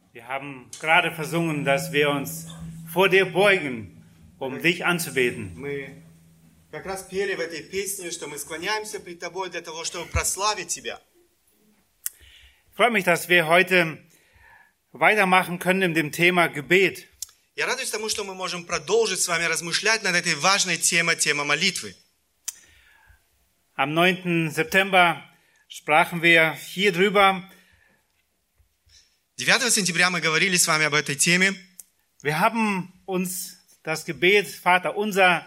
Wir haben gerade versungen, dass wir uns vor dir beugen, um dich anzubeten. Мы как раз пели в этой песне, что мы склоняемся пред Тобой для того, чтобы прославить Тебя. Ich freue mich, dass wir heute weitermachen können mit dem Thema Gebet. Я радуюсь тому, что мы можем продолжить с вами размышлять над этой важной темой, тема молитвы. Am 9. September sprachen wir hier drüber. 9 сентября мы говорили с вами об этой теме. Wir haben uns das Gebet Vater Unser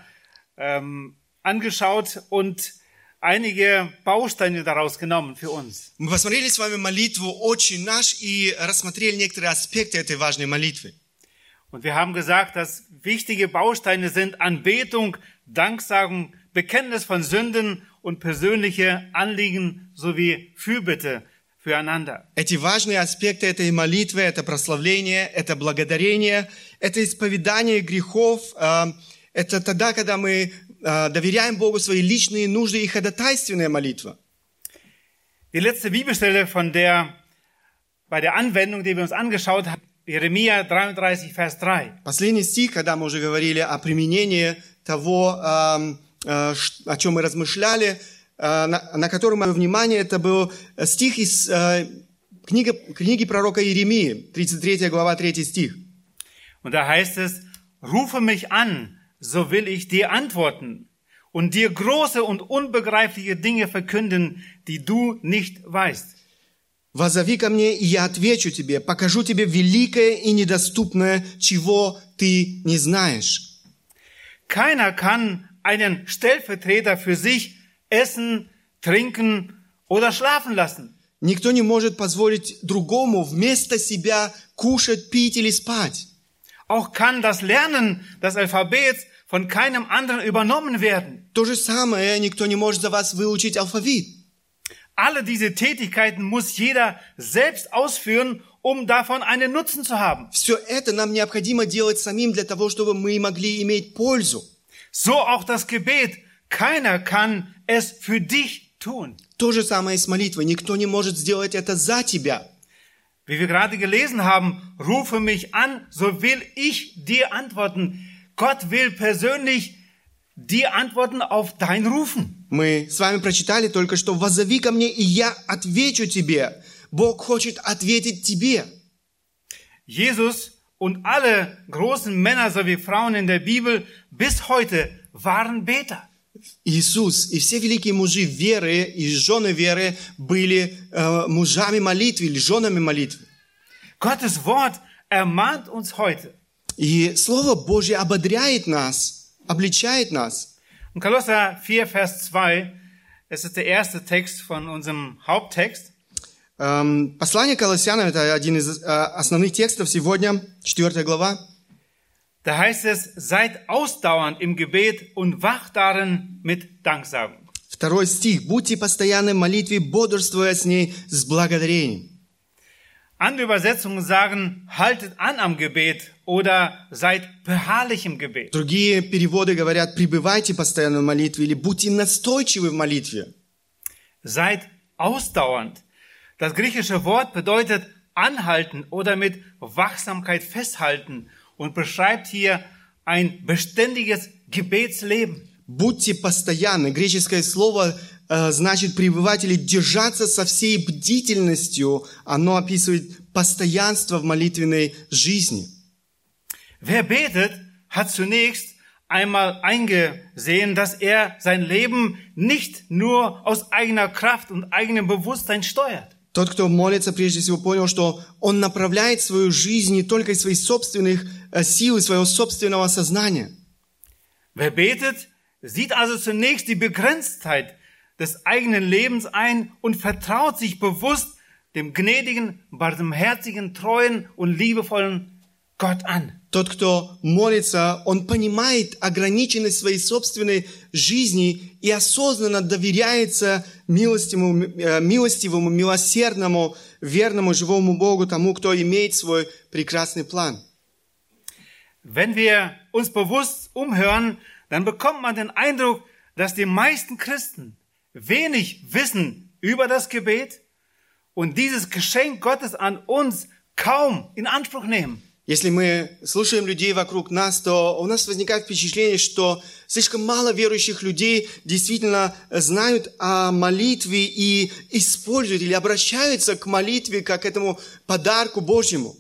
angeschaut und einige Bausteine daraus genommen für uns. Мы посмотрели с вами молитву «Отче наш» и рассмотрели некоторые аспекты этой важной молитвы. Und wir haben gesagt, dass wichtige Bausteine sind Anbetung, Danksagung, Bekenntnis von Sünden und persönliche Anliegen sowie Fürbitte füreinander. Эти важные аспекты этой молитвы – это прославление, это благодарение, это исповедание грехов, это тогда, когда мы доверяем Богу свои личные нужды и ходатайственная молитва. Die letzte Bibelstelle bei der Anwendung, die wir uns angeschaut haben, Jeremia 33, Vers 3. Последний стих, когда мы уже говорили о применении того, о чем мы размышляли, на который мы внимание, это был стих из книги пророка Иеремии, 33 глава, 3 стих. Und da heißt es, rufe mich an, so will ich dir antworten und dir große und unbegreifliche Dinge verkünden, die du nicht weißt. «Воззови ко мне, и я отвечу тебе, покажу тебе великое и недоступное, чего ты не знаешь». Keiner kann einen Stellvertreter für sich essen, trinken oder schlafen lassen. Никто не может позволить другому вместо себя кушать, пить или спать. Auch kann das Lernen des Alphabets von keinem anderen übernommen werden. То же самое, никто не может за вас выучить алфавит. Alle diese Tätigkeiten muss jeder selbst ausführen, um davon einen Nutzen zu haben. Все это нам необходимо делать самим для того, чтобы мы могли иметь пользу. So auch das Gebet. Keiner kann es für dich tun. То же самое и с молитвой. Никто не может сделать это за тебя. Wie wir gerade gelesen haben, rufe mich an, so will ich dir antworten. Gott will persönlich dir antworten auf dein Rufen. Мы с вами прочитали только что «Воззови ко мне, и я отвечу тебе». Бог хочет ответить тебе. Jesus und alle großen Männer sowie Frauen in der Bibel bis heute waren Beter. Иисус и все великие мужи веры и жены веры были мужами молитвы или женами молитвы. Gottes Wort ermahnt uns heute. И Слово Божье ободряет нас, обличает нас. In Kolosser 4, Vers 2, das ist der erste Text von unserem Haupttext. Послание к Колоссянам – это один из основных текстов сегодня, 4 глава. Da heißt es, seid ausdauernd im Gebet und wacht darin mit Danksagung. 2 стих. Будьте постоянны в молитве, бодрствуя с ней с благодарением. Andere Übersetzungen sagen, haltet an am Gebet oder seid beharrlich im Gebet. Другие переводы говорят, пребывайте постоянно в молитве или будьте настойчивы в молитве. Seid ausdauernd. Das griechische Wort bedeutet anhalten oder mit Wachsamkeit festhalten und beschreibt hier ein beständiges Gebetsleben. Будьте постоянны. Греческое слово значит пребывать или держаться со всей бдительностью. Оно описывает постоянство в молитвенной жизни. Wer betet, hat zunächst einmal eingesehen, dass er sein Leben nicht nur aus eigener Kraft und eigenem Bewusstsein steuert. Тот, кто молится, прежде всего понял, что он направляет свою жизнь не только из своих собственных сил, из своего собственного сознания. Wer betet, sieht also zunächst die Begrenztheit des eigenen Lebens ein und vertraut sich bewusst dem gnädigen, barmherzigen, treuen und liebevollen Gott an. Тот, кто молится, он понимает ограниченность своей собственной жизни и осознанно доверяется милостивому, милосердному, верному, живому Богу, тому, кто имеет свой прекрасный план. Wenn wir uns bewusst umhören, dann bekommt man den Eindruck, dass die meisten Christen wenig wissen über das Gebet und dieses Geschenk Gottes an uns kaum in Anspruch nehmen. Если мы слушаем людей вокруг нас, то у нас возникает впечатление, что слишком мало верующих людей действительно знают о молитве и используют или обращаются к молитве как к этому подарку Божьему.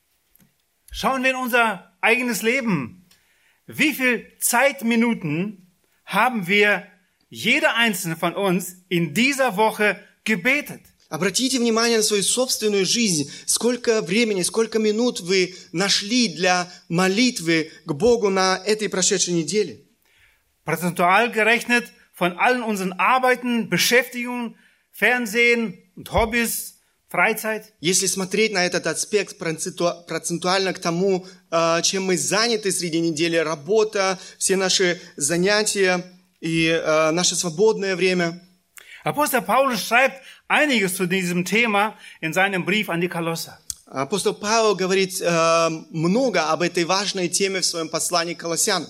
Schauen wir in unser eigenes Leben. Wie viel Zeitminuten haben wir, jeder einzelne von uns, in dieser Woche gebetet? Обратите внимание на свою собственную жизнь. Сколько времени, сколько минут вы нашли для молитвы к Богу на этой прошедшей неделе? Prozentual gerechnet von allen unseren Arbeiten, Beschäftigungen, Fernsehen und Hobbys, Freizeit. Если смотреть на этот аспект процентуально к тому, чем мы заняты среди недели, работа, все наши занятия и наше свободное время. Apostel Paulus schreibt einiges zu diesem Thema in seinem Brief an die Kolosser. Апостол Павел говорит много об этой важной теме в своем послании к Колоссянам.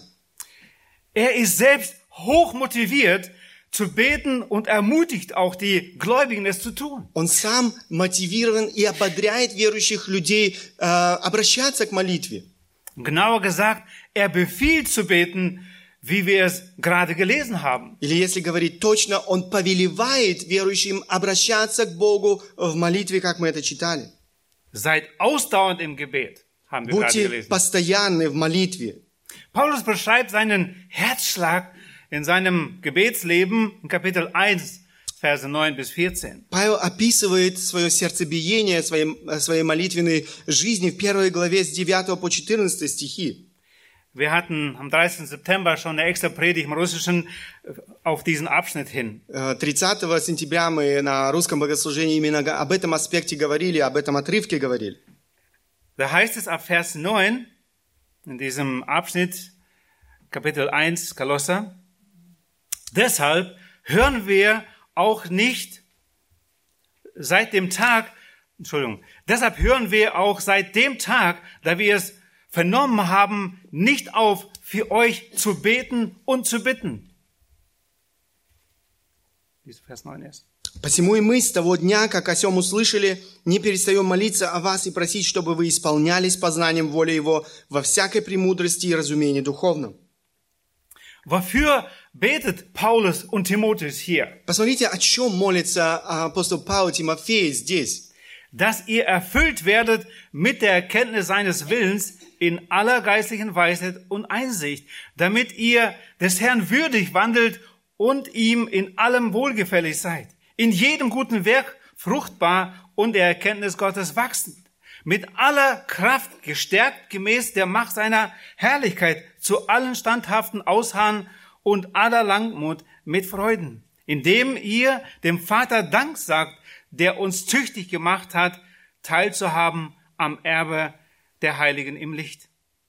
Er ist selbst hoch motiviert zu beten und ermutigt auch die Gläubigen, es zu tun. Он сам мотивирован и ободряет верующих людей обращаться к молитве. Genauer gesagt, er befiehlt zu beten, wie wir es gerade gelesen haben. Или, если говорить точно, он повелевает верующим обращаться к Богу в молитве, как мы это читали. Seid ausdauernd im Gebet, haben wir gerade Будьте gelesen. постоянны в молитве. Paulus beschreibt seinen Herzschlag in seinem Gebetsleben in Kapitel 1, Verse 9 bis 14. Павел описывает свое сердцебиение, своей молитвенной жизни в 1 главе с 9 по 14 стихи. Wir hatten am 30. September schon eine extra Predigt im Russischen auf diesen Abschnitt hin. 30 сентября мы на русском богослужении именно об этом аспекте говорили, об этом отрывке говорили. Da heißt es ab Vers 9 in diesem Abschnitt, Kapitel 1, Kolosser, deshalb hören wir auch seit dem Tag, da wir es vernommen haben, nicht auf, für euch zu beten und zu bitten. Vers 9 erst. «Посему и мы с того дня, как о сем услышали, не перестаем молиться о вас и просить, чтобы вы исполнялись познанием воли Его во всякой премудрости и разумении духовном». Wofür betet Paulus und Timotheus hier? Посмотрите, о чем молится апостол Павел Тимофею здесь. Dass ihr erfüllt werdet mit der Erkenntnis seines Willens in aller geistlichen Weisheit und Einsicht, damit ihr des Herrn würdig wandelt und ihm in allem wohlgefällig seid, in jedem guten Werk fruchtbar und der Erkenntnis Gottes wachsend, mit aller Kraft gestärkt gemäß der Macht seiner Herrlichkeit zu allen standhaften Ausharren und aller Langmut mit Freuden, indem ihr dem Vater Dank sagt, der uns tüchtig gemacht hat, teilzuhaben am Erbe der Heiligen im Licht.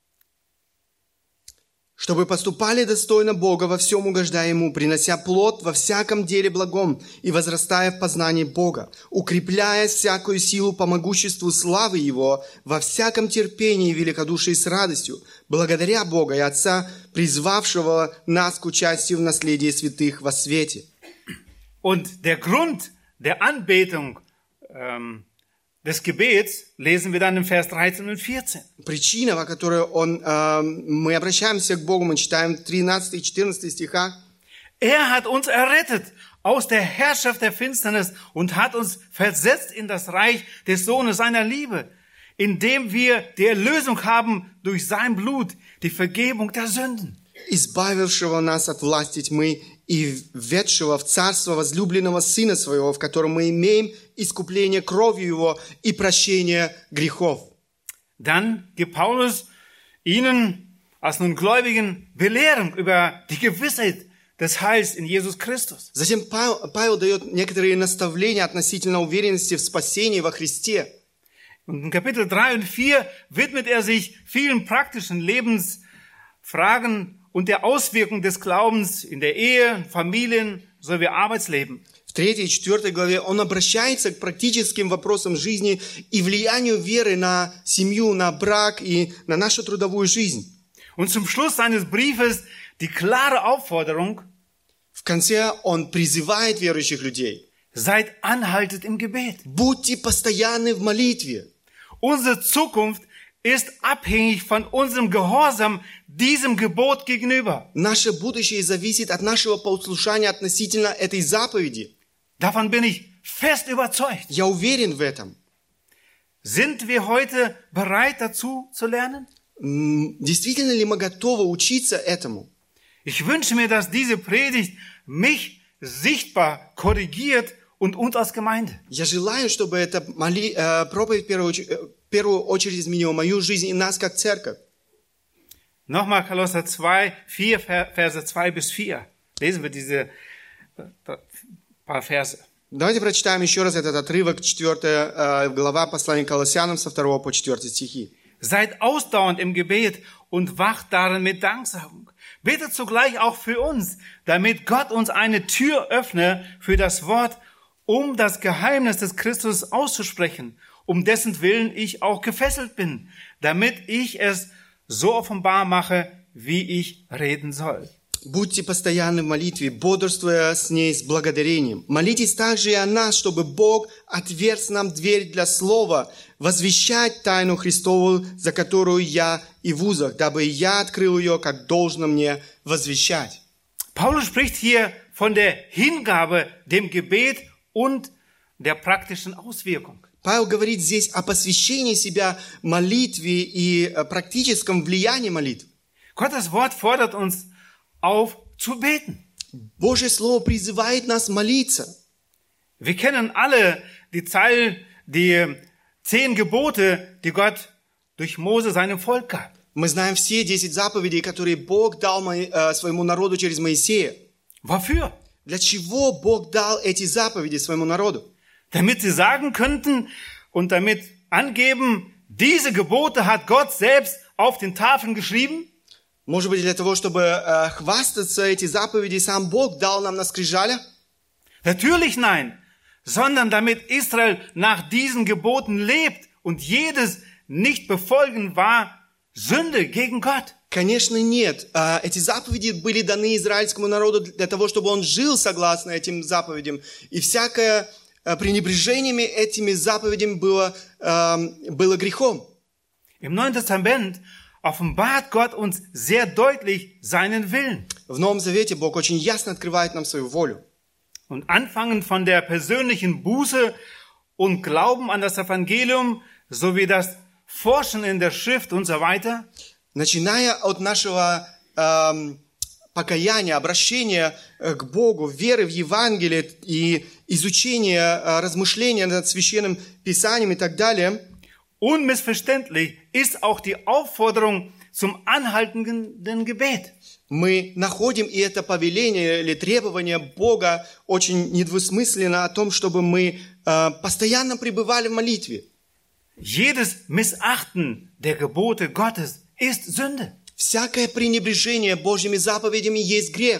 Чтобы поступали достойно Бога, во всем угождая Ему, принося плод во всяком деле благом и возрастая в познании Бога, укрепляя всякую силу по могуществу славы Его, во всяком терпении и великодушии с радостью, благодаря Бога и Отца, призвавшего нас к участию в наследии святых во свете. Und der Grund der Anbetung des Gebets lesen wir dann im Vers 13 und 14. Причина, по которой мы обращаемся к Богу, мы читаем в 13 и 14 стихах. Er hat uns errettet aus der Herrschaft der Finsternis und hat uns versetzt in das Reich des Sohnes seiner Liebe, indem wir die Erlösung haben durch sein Blut, die Vergebung der Sünden. Избавившего нас от власти тьмы и введшего в царство возлюбленного Сына Своего, в котором мы имеем искупление кровью Его и прощение грехов. Dann gibt Paulus ihnen als nun Gläubigen Belehrung über die Gewissheit des Heils in Jesus Christus. Затем Павел дает некоторые наставления относительно уверенности в спасении во Христе. Und in Kapitel 3 und 4 widmet er sich vielen praktischen Lebensfragen und der Auswirkung des Glaubens in der Ehe, Familien sowie Arbeitsleben. В 3 и 4 главе он обращается к практическим вопросам жизни и влиянию веры на семью, на брак и на нашу трудовую жизнь. Und zum Schluss seines Briefes die klare Aufforderung: В конце он призывает верующих людей: Seid anhaltend im Gebet. Будьте постоянны в молитве. Unsere Zukunft ist abhängig von unserem Gehorsam diesem Gebot gegenüber. Наше будущее зависит от нашего послушания относительно этой заповеди. Davon bin ich fest überzeugt. Я уверен в этом. Sind wir heute bereit dazu zu lernen? Действительно ли мы готовы учиться этому? Ich wünsche mir, dass diese Predigt mich sichtbar korrigiert und uns als Gemeinde. Я желаю, чтобы эта проповедь в первую очередь изменила мою жизнь и нас как церковь. Nochmal Kolosser 2, 4, Verse 2 bis 4. Lesen wir diese paar Verse. Давайте прочитаем еще раз этот отрывок, 4 глава послания к Колоссянам со 2 по 4 стихи. Seid ausdauernd im Gebet und wacht darin mit Danksagung. Betet zugleich auch für uns, damit Gott uns eine Tür öffne für das Wort, um das Geheimnis des Christus auszusprechen, um dessen Willen ich auch gefesselt bin, damit ich es so offenbar mache, wie ich reden soll. Будьте постоянны в молитве, бодрствуя с ней с благодарением. Молитесь также и о нас, чтобы Бог отверз нам дверь для слова, возвещать тайну Христову, за которую я и в узах, дабы я открыл ее, как должно мне возвещать. Paulus spricht hier von der Hingabe, dem Gebet und der praktischen Auswirkung. Павел говорит здесь о посвящении себя молитве и практическом влиянии молитвы. Gottes Wort fordert uns auf zu beten. Божье Слово призывает нас молиться. Wir kennen alle die 10 Gebote, die Gott durch Mose seinem Volk gab. Мы знаем все 10 заповедей, которые Бог дал своему народу через Моисея. Wofür? Для чего Бог дал эти заповеди своему народу? Damit sie sagen könnten und damit angeben, diese Gebote hat Gott selbst auf den Tafeln geschrieben? Может быть, для того, чтобы хвастаться, эти заповеди сам Бог дал нам на скрижалях? Natürlich nein, sondern damit Israel nach diesen Geboten lebt und jedes Nicht-Befolgen war Sünde gegen Gott. Конечно, нет. Эти заповеди были даны израильскому народу для того, чтобы он жил согласно этим заповедям. И всякое пренебрежение этими заповедями было грехом. Im Neuen Testament offenbart Gott uns sehr deutlich seinen Willen. В Новом Завете Бог очень ясно открывает нам свою волю. Und anfangen von der persönlichen Buße und Glauben an das Evangelium sowie das Forschen in der Schrift und so weiter. Начиная от нашего покаяния, обращения к Богу, веры в Евангелие и изучения, размышления над Священным Писанием и так далее. Unmissverständlich ist auch die Aufforderung zum anhaltenden Gebet. Мы находим и это повеление или требование Бога очень недвусмысленно о том, чтобы мы постоянно пребывали в молитве. Jedes Missachten der Gebote Gottes ist Sünde. Всякое пренебрежение Божьими заповедями есть грех.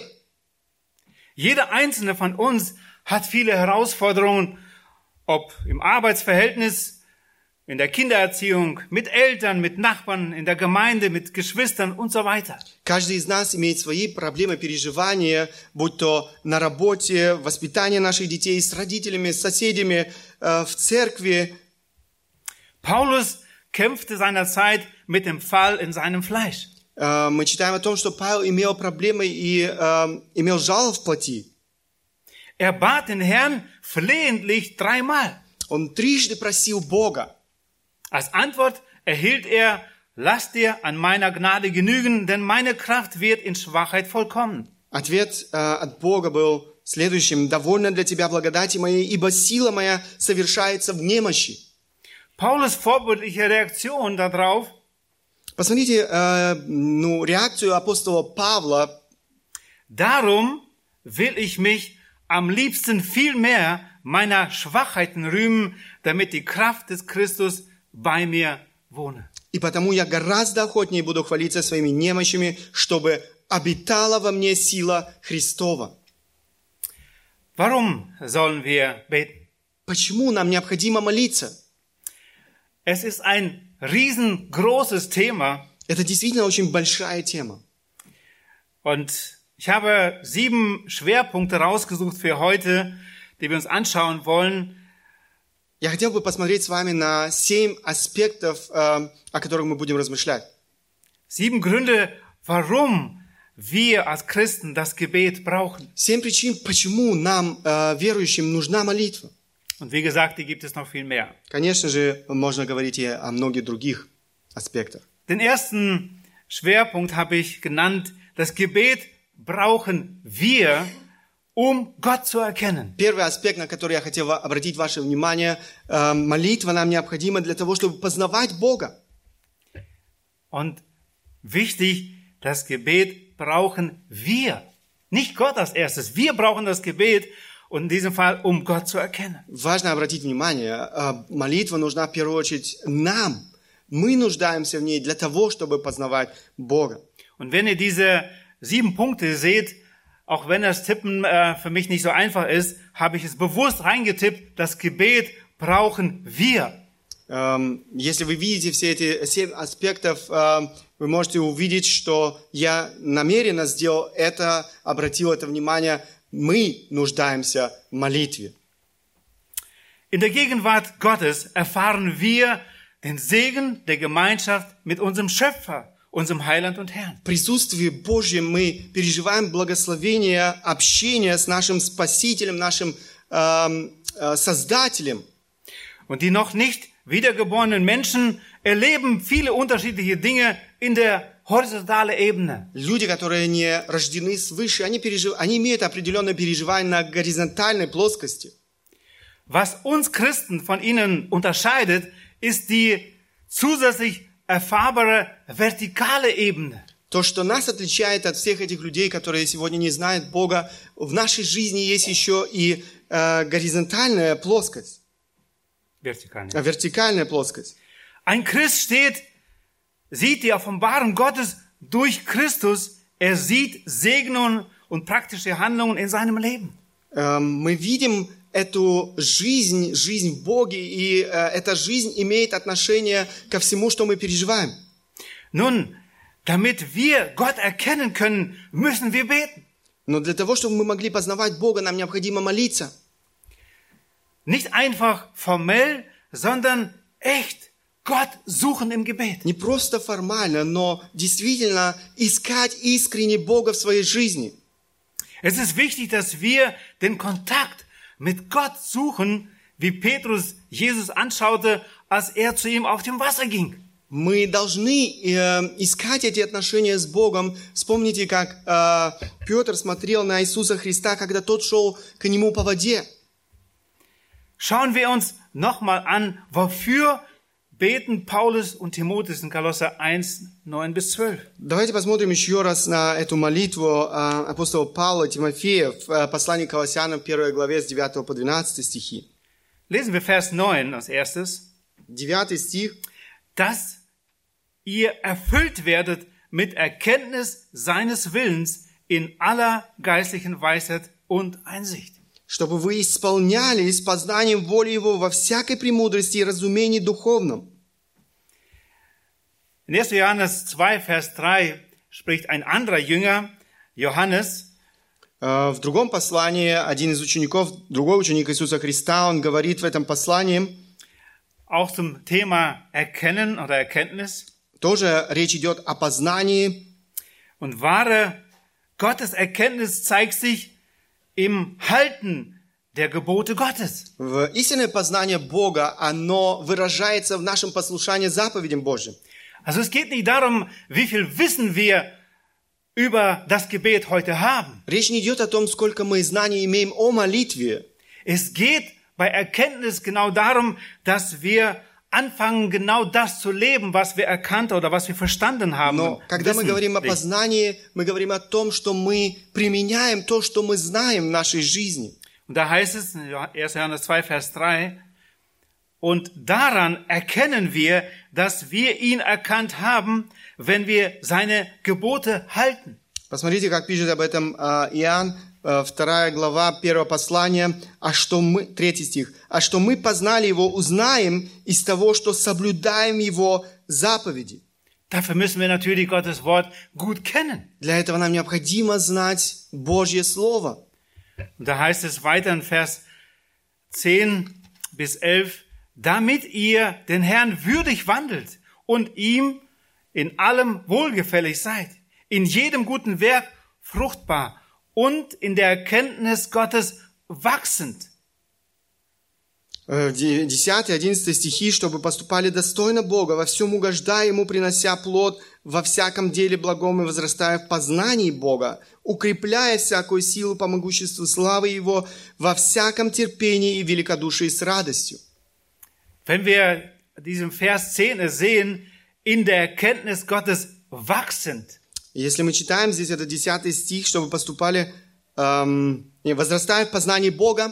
Jeder einzelne von uns hat viele Herausforderungen, ob im Arbeitsverhältnis, in der Kindererziehung, mit Eltern, mit Nachbarn, in der Gemeinde, mit Geschwistern und so weiter. Каждый из нас имеет свои проблемы, переживания, будь то на работе, воспитание наших детей, с родителями, с соседями, в церкви. Paulus kämpfte seinerzeit mit dem Fall in seinem Fleisch. Мы читаем о том, что Павел имел проблемы и имел жало в плоти. Er bat den Herrn flehentlich 3-mal. Он трижды просил Бога. Als Antwort erhielt er, lass dir an meiner Gnade genügen, denn meine Kraft wird in Schwachheit vollkommen. Ответ от Бога был следующим. «Довольно для тебя благодати моей, ибо сила моя совершается в немощи». Paulus vorbildliche Reaktion darauf. Посмотрите реакцию апостола Павла. Darum will ich mich am liebsten viel mehr meiner Schwachheiten rühmen, damit die Kraft des Christus bei mir wohne. И потому я гораздо охотнее буду хвалиться своими немощами, чтобы обитала во мне сила Христова. Warum sollen wir beten? Почему нам необходимо молиться? Es ist ein riesengroßes Thema. Это действительно очень большая тема. Und ich habe 7 Schwerpunkte rausgesucht für heute, die wir uns anschauen wollen. Я хотел бы посмотреть с вами на 7 аспектов, о которых мы будем размышлять. 7 Gründe, warum wir als Christen das Gebet brauchen. 7 причин, почему нам, верующим, нужна молитва. Und wie gesagt, die gibt es noch viel mehr. Конечно же, можно говорить и о многих других аспектах. Den ersten Schwerpunkt habe ich genannt, das Gebet brauchen wir, um Gott zu erkennen. Первый аспект, на который я хотел обратить ваше внимание, молитва нам необходима для того, чтобы познавать Бога. Und wichtig, das Gebet brauchen wir. Nicht Gott als erstes. Wir brauchen das Gebet und in diesem Fall, um Gott zu erkennen. Важно обратить внимание, молитва нужна в первую очередь нам. Мы нуждаемся в ней для того, чтобы познавать Бога. Und wenn ihr diese 7 Punkte seht, auch wenn das Tippen für mich nicht so einfach ist, habe ich es bewusst reingetippt, das Gebet brauchen wir. Если вы видите все эти 7 аспектов, вы можете увидеть, что я намеренно сделал это, обратил это внимание. Мы нуждаемся в молитве. In der Gegenwart Gottes erfahren wir den Segen der Gemeinschaft mit unserem Schöpfer, unserem Heiland und Herrn. В присутствии Божьем мы переживаем благословение общения с нашим Спасителем, нашим Создателем. Und die noch nicht wiedergeborenen Menschen erleben viele unterschiedliche Dinge in der horizontalen Ebene. Люди, которые не рождены свыше, они имеют определенное переживание на горизонтальной плоскости. Was uns Christen von ihnen unterscheidet, ist die zusätzlich erfahrbare vertikale Ebene. То, что нас отличает от всех этих людей, которые сегодня не знают Бога, в нашей жизни есть еще и горизонтальная плоскость. Вертикальная плоскость. Ein Christ sieht die Offenbarung Gottes durch Christus. Er sieht Segnungen und praktische Handlungen in seinem Leben. Мы видим эту жизнь в Боге, и эта жизнь имеет отношение ко всему, что мы переживаем. Nun, damit wir Gott erkennen können, müssen wir beten. Но для того, чтобы мы могли познавать Бога, нам необходимо молиться. Nicht einfach formell, sondern echt Gott suchen im Gebet. Не просто формально, но действительно искать искренне Бога в своей жизни. Es ist wichtig, dass wir den Kontakt mit Gott suchen, wie Petrus Jesus anschaute, als er zu ihm auf dem Wasser ging. Мы должны искать эти отношения с Богом. Вспомните, как Петр смотрел на Иисуса Христа, когда тот шел к нему по воде. Schauen wir uns nochmal an, wofür beten Paulus und Timotheus in Kolosser 1, 9-12. Давайте посмотрим еще раз на эту молитву апостола Павла Тимофея в послании к Колоссянам, 1 главе, с 9 по 12 стихи. Lesen wir Vers 9 als erstes. 9 стих. Dass ihr erfüllt werdet mit Erkenntnis seines Willens in aller geistlichen Weisheit und Einsicht. Чтобы вы исполнялись познанием воли Его во всякой премудрости и разумении духовном. In 1. Johannes 2, Vers 3 spricht ein anderer Jünger, Johannes. В другом послании один из учеников, другой ученик Иисуса Христа, он говорит в этом послании, auch zum Thema Erkennen oder Erkenntnis. Тоже речь идет о познании. Und wahre Gotteserkenntnis zeigt sich im Halten der Gebote Gottes. Истинное познание Бога, оно выражается в нашем послушании заповедям Божьим. Also es geht nicht darum, wie viel Wissen wir über das Gebet heute haben. Речь не идет о том, сколько мы знаний имеем о молитве. Es geht bei Erkenntnis genau darum, dass wir anfangen, genau das zu leben, was wir erkannt oder was wir verstanden haben. Но когда мы говорим о познании, мы говорим о том, что мы применяем то, что мы знаем в нашей жизни. Und da heißt es in 1. Johannes 2, Vers 3, und daran erkennen wir, dass wir ihn erkannt haben, wenn wir seine Gebote halten. Посмотрите, как пишет об этом Иоанн, 2 глава 1 послания, 3 стих. «А что мы познали Его, узнаем из того, что соблюдаем Его заповеди». Dafür müssen wir natürlich Gottes Wort gut kennen. Для этого нам необходимо знать Божье Слово. Und da heißt es weiter in Vers 10 bis 11, damit ihr den Herrn würdig wandelt und ihm in allem wohlgefällig seid, in jedem guten Werk fruchtbar und in der Erkenntnis Gottes wachsend. 10-11 стихи, чтобы поступали достойно Бога, во всем угождая Ему, принося плод, во всяком деле благом и возрастая в познании Бога, укрепляя всякую силу по могуществу славы Его, во всяком терпении и великодушии с радостью. Wenn wir diesen Vers 10 sehen, in der Erkenntnis Gottes wachsend. Если мы читаем здесь этот 10 стих, чтобы поступали, возрастая в познании Бога,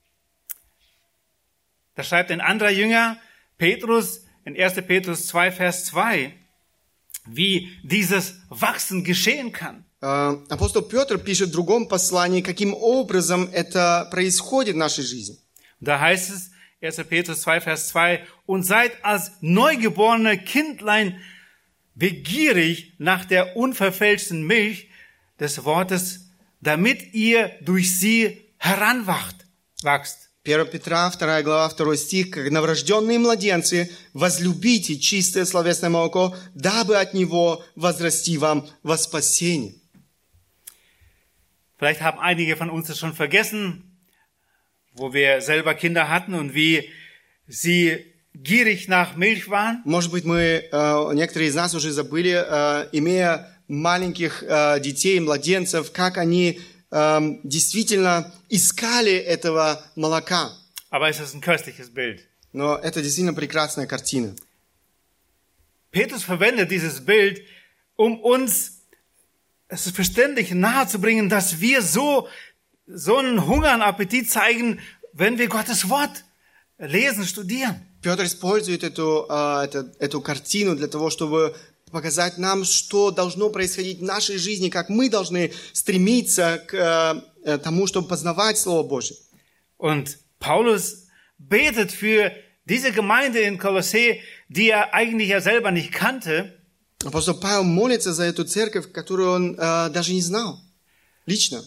Da schreibt ein anderer Jünger, Petrus, in 1. Petrus 2, Vers 2, wie dieses Wachsen geschehen kann. Апостол Петр пишет в другом послании, каким образом это происходит в нашей жизни. Da heißt es, 1. Petrus 2, Vers 2, und seid als neugeborene Kindlein begierig nach der unverfälschten Milch des Wortes, damit ihr durch sie heranwachst. 1 Петра, 2 глава, 2 стих, как новорожденные младенцы, возлюбите чистое словесное молоко, дабы от него возрасти вам во спасение. Vielleicht haben einige von uns das schon vergessen, wo wir selber Kinder hatten und wie sie gierig nach Milch waren. Может быть, некоторые из нас уже забыли, имея маленьких детей, младенцев, как они действительно искали этого молока. Aber es ist ein köstliches Bild. Но это действительно прекрасная картина. Petrus verwendet dieses Bild, um uns es ist verständlich nahezubringen, dass wir so einen Hunger und Appetit zeigen, wenn wir Gottes Wort lesen, studieren. Петр использует эту картину для того, чтобы показать нам, что должно происходить в нашей жизни, как мы должны стремиться к тому, чтобы познавать Слово Божье. Und Paulus betet für diese Gemeinde in Kolossä, die er eigentlich ja selber nicht kannte. Апостол Павел молится за эту церковь, которую он даже не знал лично.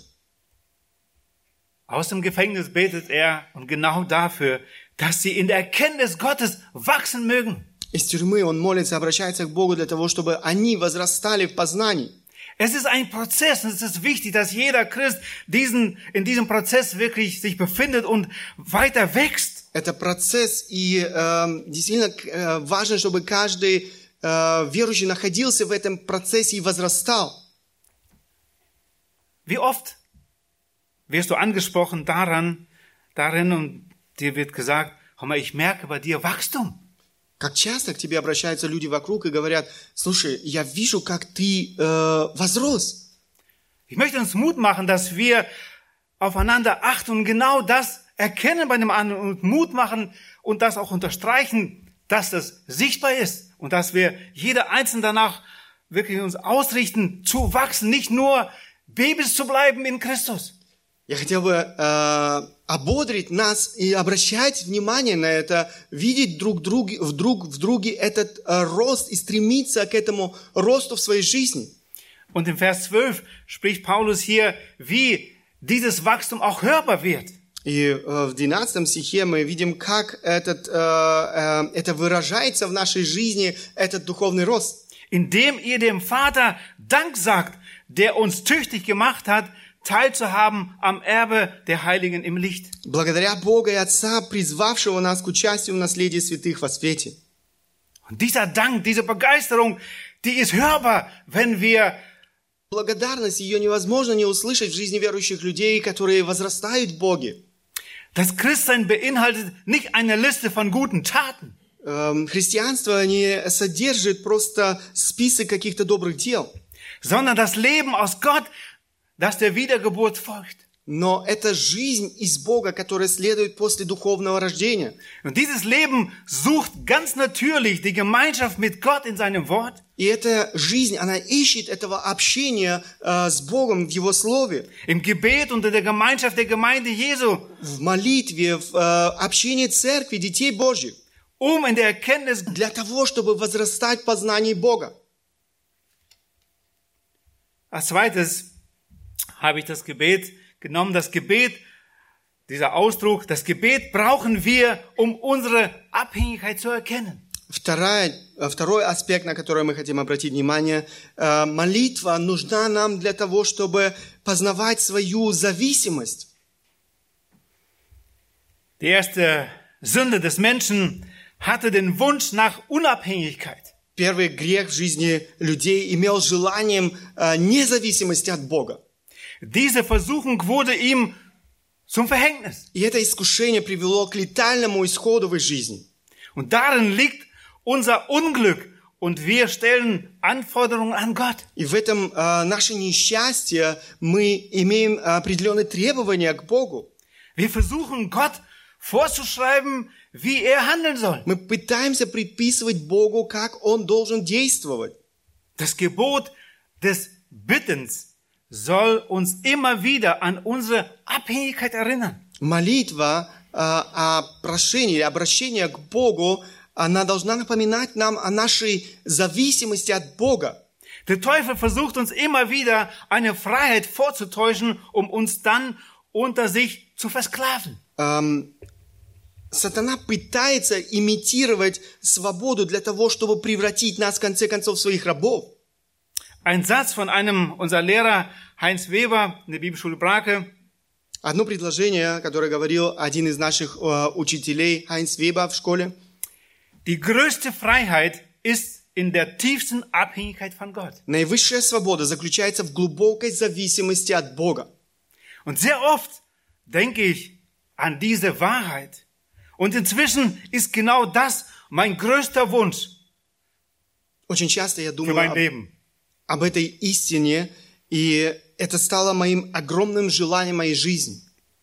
Aus dem Gefängnis betet er und genau dafür, dass sie in der Erkenntnis Gottes wachsen mögen. Из тюрьмы он молится, обращается к Богу для того, чтобы они возрастали в познании. Es ist ein Prozess und es ist wichtig, dass jeder Christ in diesem Prozess wirklich sich befindet und weiter wächst. Это процесс, и действительно важно, чтобы каждый верующий находился в этом процессе и возрастал. Wie oft wirst du angesprochen darin und dir wird gesagt, hör mal, ich merke bei dir Wachstum. Как часто к тебе обращаются люди вокруг и говорят, слушай, я вижу, как ты возрос. Ich möchte uns Mut machen, dass wir aufeinander achten und genau das erkennen bei dem anderen und Mut machen und das auch unterstreichen, dass das sichtbar ist und dass wir jeder Einzelne danach wirklich uns ausrichten, zu wachsen, nicht nur Babys zu bleiben in Christus. Я хотел бы ободрить нас и обращать внимание на это, видеть друг в друге этот рост и стремиться к этому росту в своей жизни. Und im Vers 12 spricht Paulus hier, wie dieses Wachstum auch hörbar wird. И в 12 стихе мы видим, как это выражается в нашей жизни, этот духовный рост. Indem ihr dem Vater Dank sagt, der uns tüchtig gemacht hat, teilzuhaben am Erbe der Heiligen im Licht. Благодаря Бога и Отца, призвавшего нас к участию в наследии святых во свете. Und dieser Dank, diese Begeisterung, die ist hörbar, wenn wir Благодарность, ее невозможно не услышать в жизни верующих людей, которые возрастают в Боге. Das Christsein beinhaltet nicht eine Liste von guten Taten. Христианство не содержит просто список каких-то добрых дел, sondern das Leben aus Gott, das der Wiedergeburt folgt. Но это жизнь из Бога, которая следует после духовного рождения. Und dieses Leben sucht ganz natürlich die Gemeinschaft mit Gott in seinem Wort. И эта жизнь, она ищет этого общения с Богом в Его Слове. Im Gebet und in der Gemeinschaft der Gemeinde Jesu. В молитве, в общении церкви, детей Божьих. In der Erkenntnis. Для того, чтобы возрастать в познании Бога. Als zweites habe ich das Gebet genommen, das Gebet dieser Ausdruck, das Gebet brauchen wir, um unsere Abhängigkeit zu erkennen. Второй аспект, на который мы хотим обратить внимание, молитва нужна нам для того, чтобы познавать свою зависимость. Die erste Sünde des Menschen hatte den Wunsch nach Unabhängigkeit. Первый грех в жизни людей имел желанием независимости от Бога. Diese Versuchung wurde ihm zum Verhängnis. И это искушение привело к летальному исходу в их жизни. Und darin liegt unser Unglück und wir stellen Anforderungen an Gott. И в этом наше несчастье мы имеем определенные требования к Богу. Wir versuchen Gott vorzuschreiben, wie er handeln soll. Мы пытаемся предписывать Богу, как Он должен действовать. Das Gebot des Bittens soll uns immer wieder an unsere Abhängigkeit erinnern. Молитва о прошении или обращение к Богу, она должна напоминать нам о нашей зависимости от Бога. Der Teufel versucht uns immer wieder eine Freiheit vorzutäuschen, um uns dann unter sich zu versklaven. Сатана пытается имитировать свободу для того, чтобы превратить нас, в конце концов, в своих рабов. Ein Satz von einem unserer Lehrer, Heinz Weber, in der Bibelschule Brake. Одно предложение, которое говорил один из наших учителей, Хайнц Вебер в школе. Die größte Freiheit ist in der tiefsten Abhängigkeit von Gott. Наивысшая свобода заключается в глубокой зависимости от Бога. Und sehr oft denke ich an diese Wahrheit. Und inzwischen ist genau das mein größter Wunsch Очень часто я für mein Leben. об этой истине, и это стало моим огромным желанием моей жизни.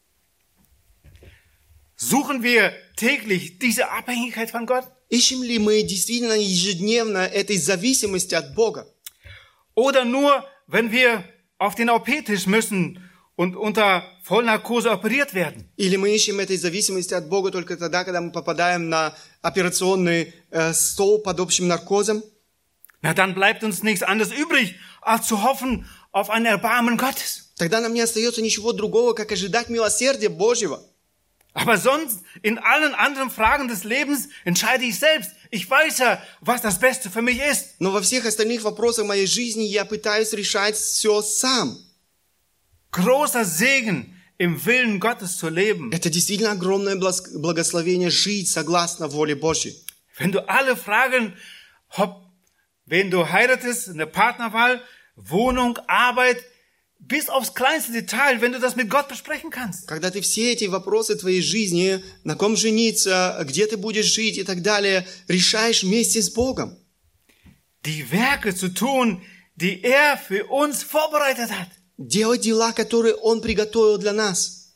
Suchen wir täglich diese Abhängigkeit von Gott? Ищем ли мы действительно ежедневно этой зависимости от Бога? Oder nur, wenn wir auf den OP-Tisch müssen und unter Vollnarkose operiert werden? Или мы ищем этой зависимости от Бога только тогда, когда мы попадаем на операционный стол под общим наркозом? Na, dann bleibt uns nichts anderes übrig, als zu hoffen auf ein Erbarmen Gottes. Тогда нам не остается ничего другого, как ожидать милосердия Божьего. Aber sonst, in allen anderen Fragen des Lebens entscheide ich selbst. Ich weiß ja, was das Beste für mich ist. Но во всех остальных вопросах моей жизни я пытаюсь решать все сам. Großer Segen, im Willen Gottes zu leben. Это действительно огромное благословение жить согласно воле Божьей. Wenn du alle Fragen, wenn du heiratest, eine Partnerwahl, Wohnung, Arbeit, bis aufs kleinste Detail, wenn du das mit Gott besprechen kannst. Когда ты все эти вопросы твоей жизни, на ком жениться, где ты будешь жить и так далее, решаешь вместе с Богом. Die Werke zu tun, die er für uns vorbereitet hat. Делать дела, которые Он приготовил для нас.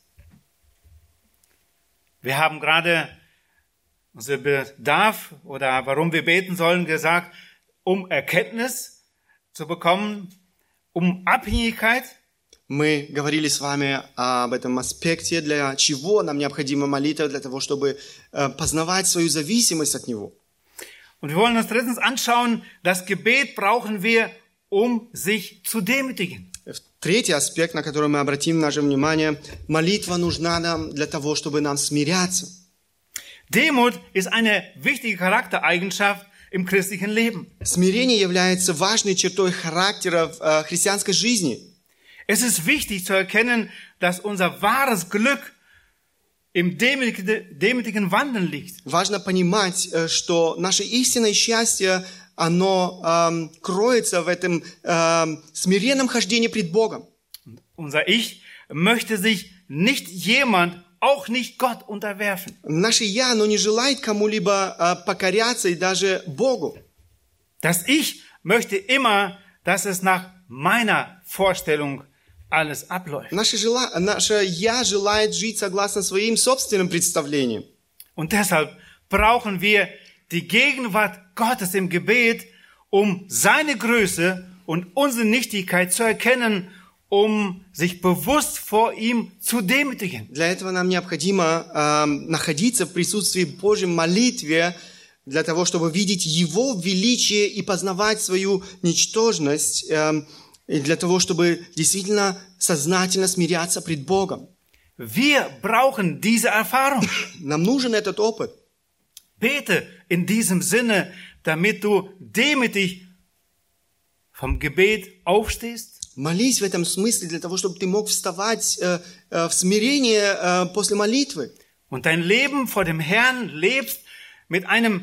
Wir haben gerade unser Bedarf oder warum wir beten sollen gesagt, um Erkenntnis zu bekommen, um Abhängigkeit. Мы говорили с вами об этом аспекте, для чего нам необходима молитва, для того, чтобы познавать свою зависимость от Него. Und wir wollen uns drittens anschauen, das Gebet brauchen wir, um sich zu demütigen. Третий аспект, на который мы обратим наше внимание, молитва нужна нам для того, чтобы нам смиряться. Demut ist eine wichtige Charaktereigenschaft im christlichen Leben. Смирение является важной чертой характера в христианской жизни. Es ist wichtig zu erkennen, dass unser wahres Glück im demütigen Wandeln liegt. Важно понимать, что наше истинное счастье, оно кроется в этом смиренном хождении пред Богом. Unser Ich möchte sich nicht jemand, auch nicht Gott, unterwerfen. Наше «я», оно не желает кому-либо покоряться и даже Богу. Das Ich möchte immer, dass es nach meiner Vorstellung alles abläuft. Наше «я» желает жить согласно своим собственным представлениям. Und deshalb brauchen wir die Gegenwart Gottes im Gebet, um seine Größe und unsere Nichtigkeit zu erkennen, um sich bewusst vor ihm zu demütigen. Для этого нам необходимо находиться в присутствии Божьем, молитве, для того, чтобы видеть Его величие и познавать свою ничтожность, и для того, чтобы действительно сознательно смиряться пред Богом. Wir brauchen diese Erfahrung. Нам нужен этот опыт. Bete in diesem Sinne, damit du demütig vom Gebet aufstehst. Молись в этом смысле для того, чтобы ты мог вставать в смирение после молитвы. Und dein Leben vor dem Herrn lebst mit einem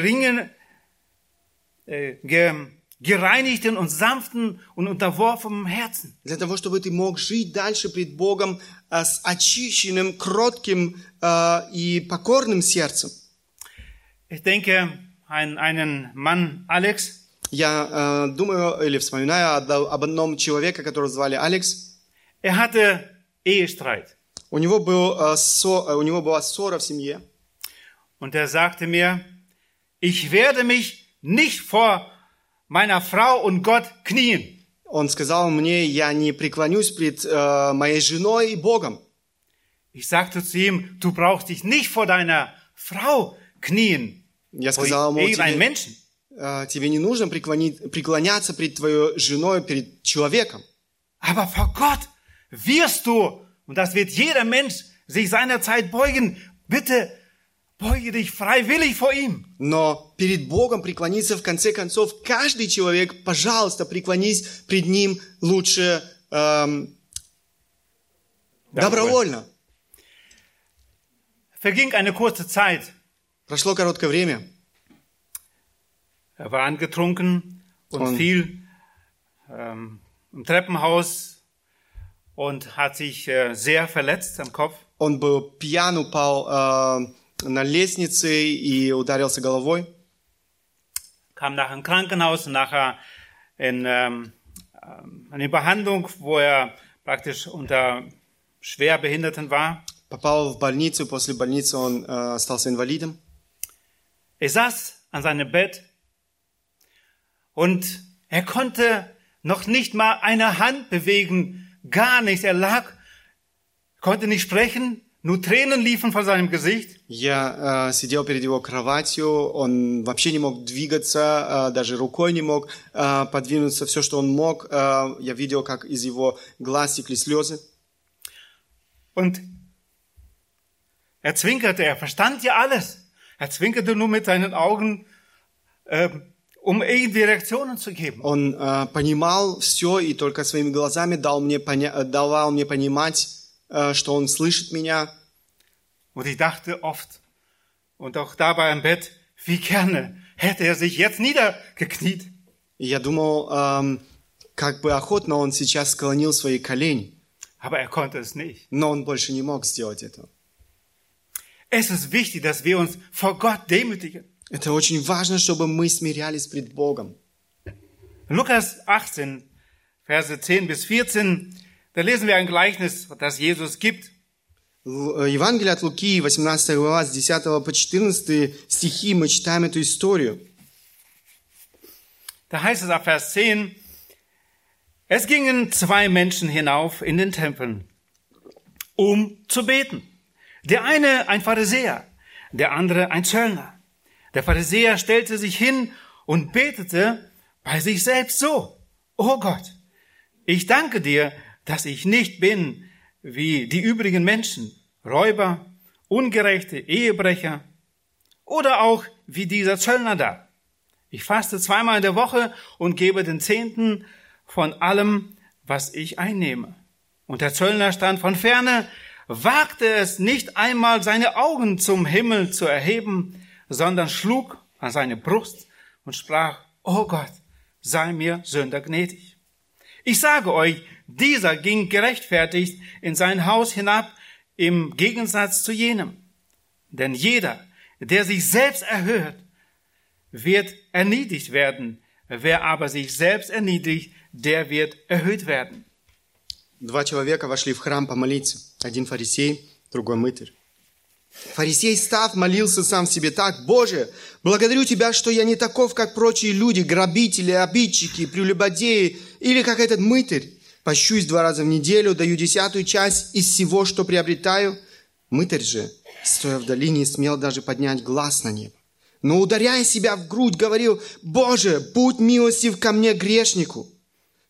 gereinigten und sanften und unterworfenen Herzen. Для того, чтобы ты мог жить дальше пред Богом с очищенным, кротким и покорным сердцем. Ich denke an einen Mann, Alex. Я думаю или вспоминаю об одном человеке, которого звали Алекс. Er hatte Ehestreit. У него была ссора в семье. Und er sagte mir, ich werde mich nicht vor meiner Frau und Gott knien. Он сказал мне, я не преклонюсь пред моей женой и Богом. Ich sagte zu ihm, du brauchst dich nicht vor deiner Frau knien. Я сказал ему, тебе не нужно преклоняться пред твоей женой, перед человеком. Aber vor Gott wirst du, und das wird jeder Mensch sich seiner Zeit beugen, bitte beuge dich freiwillig vor ihm. Но перед Богом преклониться в конце концов каждый человек, пожалуйста, преклонись пред Ним лучше добровольно. Verging eine kurze Zeit. Прошло короткое время. Er war angetrunken und fiel im Treppenhaus und hat sich sehr verletzt am Kopf. Он был пьян, упал на лестнице и ударился головой. Kam nachher im Krankenhaus und nachher in eine Behandlung, wo er praktisch unter Schwerbehinderten war. Попал в больницу, после больницы он остался инвалидом. Er saß an seinem Bett und er konnte noch nicht mal eine Hand bewegen, gar nichts. Er lag, konnte nicht sprechen, nur Tränen liefen von seinem Gesicht. Я сидел перед его кроватью, он вообще не мог двигаться, даже рукой не мог подвинуться, все, что он мог. Я видел, как из его глаз текли слезы. Und er zwinkerte, er verstand ja alles. Er zwinkerte nur mit seinen Augen, um irgendwie Reaktionen zu geben. Он понимал все и только своими глазами давал мне понимать, что он слышит меня. Und ich dachte oft, und auch dabei im Bett, wie gerne hätte er sich jetzt niedergekniet. И я думал, как бы охотно он сейчас склонил свои колени. Aber er konnte es nicht. Но он больше не мог сделать этого. Es ist wichtig, dass wir uns vor Gott demütigen. Это очень важно, чтобы мы смирялись пред Богом. Lukas 18, Verse 10 bis 14, da lesen wir ein Gleichnis, das Jesus gibt. Евангелие от Луки, 18 глава, с 10 по 14 стихи, мы читаем эту историю. Da heißt es ab Vers 10, es gingen 2 Menschen hinauf in den Tempel, um zu beten. Der eine ein Pharisäer, der andere ein Zöllner. Der Pharisäer stellte sich hin und betete bei sich selbst so: O Gott, ich danke dir, dass ich nicht bin wie die übrigen Menschen, Räuber, ungerechte Ehebrecher oder auch wie dieser Zöllner da. Ich faste 2-mal in der Woche und gebe den 10. von allem, was ich einnehme. Und der Zöllner stand von ferne, wagte es nicht einmal, seine Augen zum Himmel zu erheben, sondern schlug an seine Brust und sprach: O Gott, sei mir Sünder gnädig. Ich sage euch, dieser ging gerechtfertigt in sein Haus hinab, im Gegensatz zu jenem. Denn jeder, der sich selbst erhöht, wird erniedrigt werden. Wer aber sich selbst erniedrigt, der wird erhöht werden. 2 человека вошли в храм помолиться. Один фарисей, другой мытарь. Фарисей, став, молился сам в себе так: «Боже, благодарю Тебя, что я не таков, как прочие люди, грабители, обидчики, прелюбодеи, или как этот мытарь. Пощусь 2 раза в неделю, даю 10-ую часть из всего, что приобретаю». Мытарь же, стоя вдали, не смел даже поднять глаз на небо. Но, ударяя себя в грудь, говорил: «Боже, будь милостив ко мне, грешнику».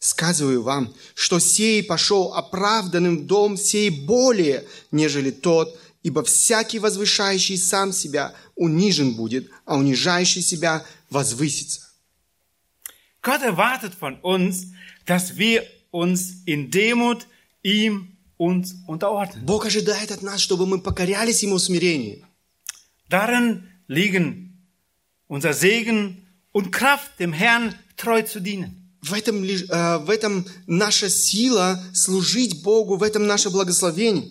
Сказываю вам, что сей пошел оправданным в дом сей более, нежели тот, ибо всякий возвышающий сам себя унижен будет, а унижающий себя возвысится. Gott erwartet von uns, dass wir uns in Demut ihm uns unterordnen. Бог ожидает от нас, чтобы мы покорялись Ему в смирении. Darin liegen unser Segen und Kraft, dem Herrn treu zu dienen. В этом наша сила служить Богу, в этом наше благословение.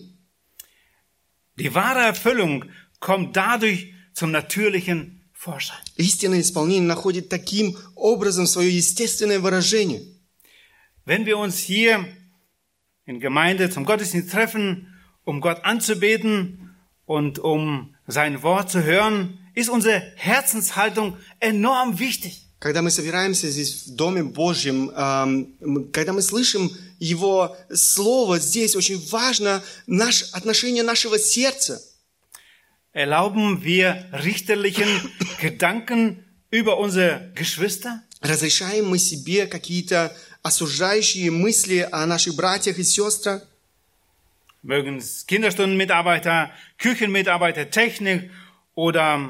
Die wahre Erfüllung kommt dadurch zum natürlichen Vorschein. Истинное исполнение находит таким образом свое естественное выражение. Wenn wir uns hier in Gemeinde zum Gottesdienst treffen, um Gott anzubeten und um sein Wort zu hören, ist unsere Herzenshaltung enorm wichtig. Когда мы собираемся здесь в Доме Божьем, когда мы слышим Его Слово, здесь очень важно отношение нашего сердца. Erlauben wir richterlichen Gedanken über unsere Geschwister? Разрешаем мы себе какие-то осуждающие мысли о наших братьях и сестрах? Mögen es Kinderstundenmitarbeiter, Küchenmitarbeiter, Technik oder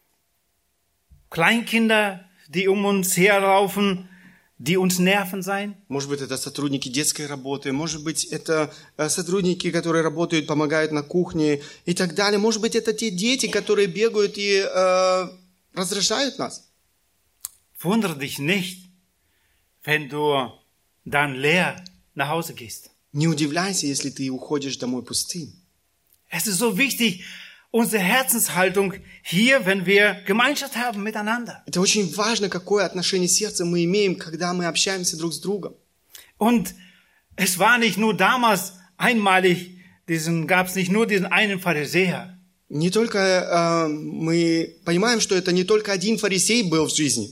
Kleinkinder, die um uns herlaufen, die uns nerven sein? Может быть, это сотрудники детской работы, может быть, это сотрудники, которые работают, помогают на кухне и так далее. Может быть, это те дети, которые бегают и раздражают нас. Wundere dich nicht, wenn du dann leer nach Hause gehst. Не удивляйся, если ты уходишь домой пустым. Es ist so wichtig, unsere Herzenshaltung hier, wenn wir Gemeinschaft haben miteinander. Это очень важно, какое отношение сердца мы имеем, когда мы общаемся друг с другом. Und es war nicht nur damals einmalig, gab es nicht nur diesen einen Pharisäer. Не только мы понимаем, что это не только один фарисей был в жизни.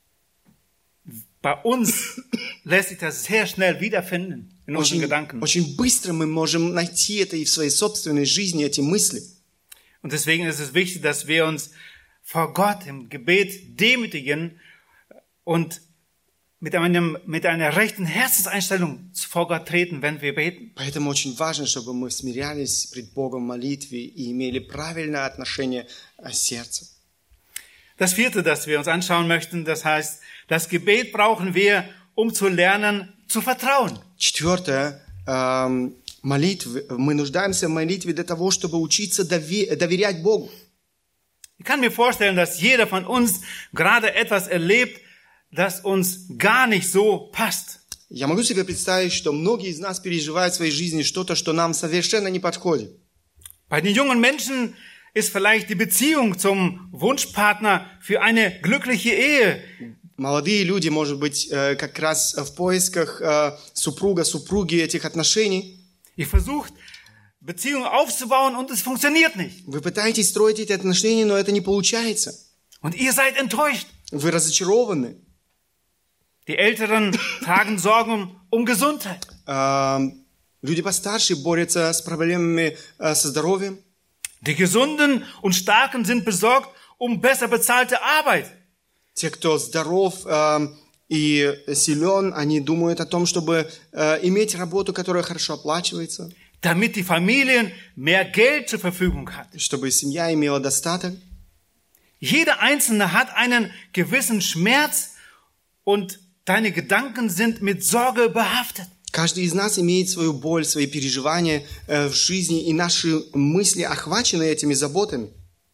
Bei uns lässt sich das sehr schnell wiederfinden in unseren Gedanken. Очень быстро мы можем найти это и в своей собственной жизни, эти мысли. Und deswegen ist es wichtig, dass wir uns vor Gott im Gebet demütigen und mit einer rechten Herzenseinstellung vor Gott treten, wenn wir beten. Поэтому очень важно, чтобы мы смирялись пред Богом в молитве и имели правильное отношение сердца. Das vierte, das wir uns anschauen möchten, das heißt, das Gebet brauchen wir, um zu lernen, zu vertrauen. Четвертое, молитвы. Мы нуждаемся в молитве для того, чтобы учиться доверять Богу. Ich kann mir vorstellen, dass jeder von uns gerade etwas erlebt, das uns gar nicht so passt. Я могу себе представить, что многие из нас переживают в своей жизни что-то, что нам совершенно не подходит. Bei den jungen Menschen ist vielleicht die Beziehung zum Wunschpartner für eine glückliche Ehe. Молодые люди, может быть, как раз в поисках супруги этих отношений. Ihr versucht, Beziehungen aufzubauen und es funktioniert nicht. Вы пытаетесь строить эти отношения, но это не получается. Und ihr seid enttäuscht. Вы разочарованы. Die Älteren tragen Sorgen um Gesundheit. Люди постарше борются с проблемами со здоровьем. Die Gesunden und Starken sind besorgt um besser bezahlte Arbeit. Те, кто здоров и силен, они думают о том, чтобы иметь работу, которая хорошо оплачивается. Damit die Familien mehr Geld zur Verfügung hat. Чтобы семья имела достаток. Jeder Einzelne hat einen gewissen Schmerz und deine Gedanken sind mit Sorge behaftet. Каждый из нас имеет свою боль, свои переживания в жизни, и наши мысли охвачены этими заботами.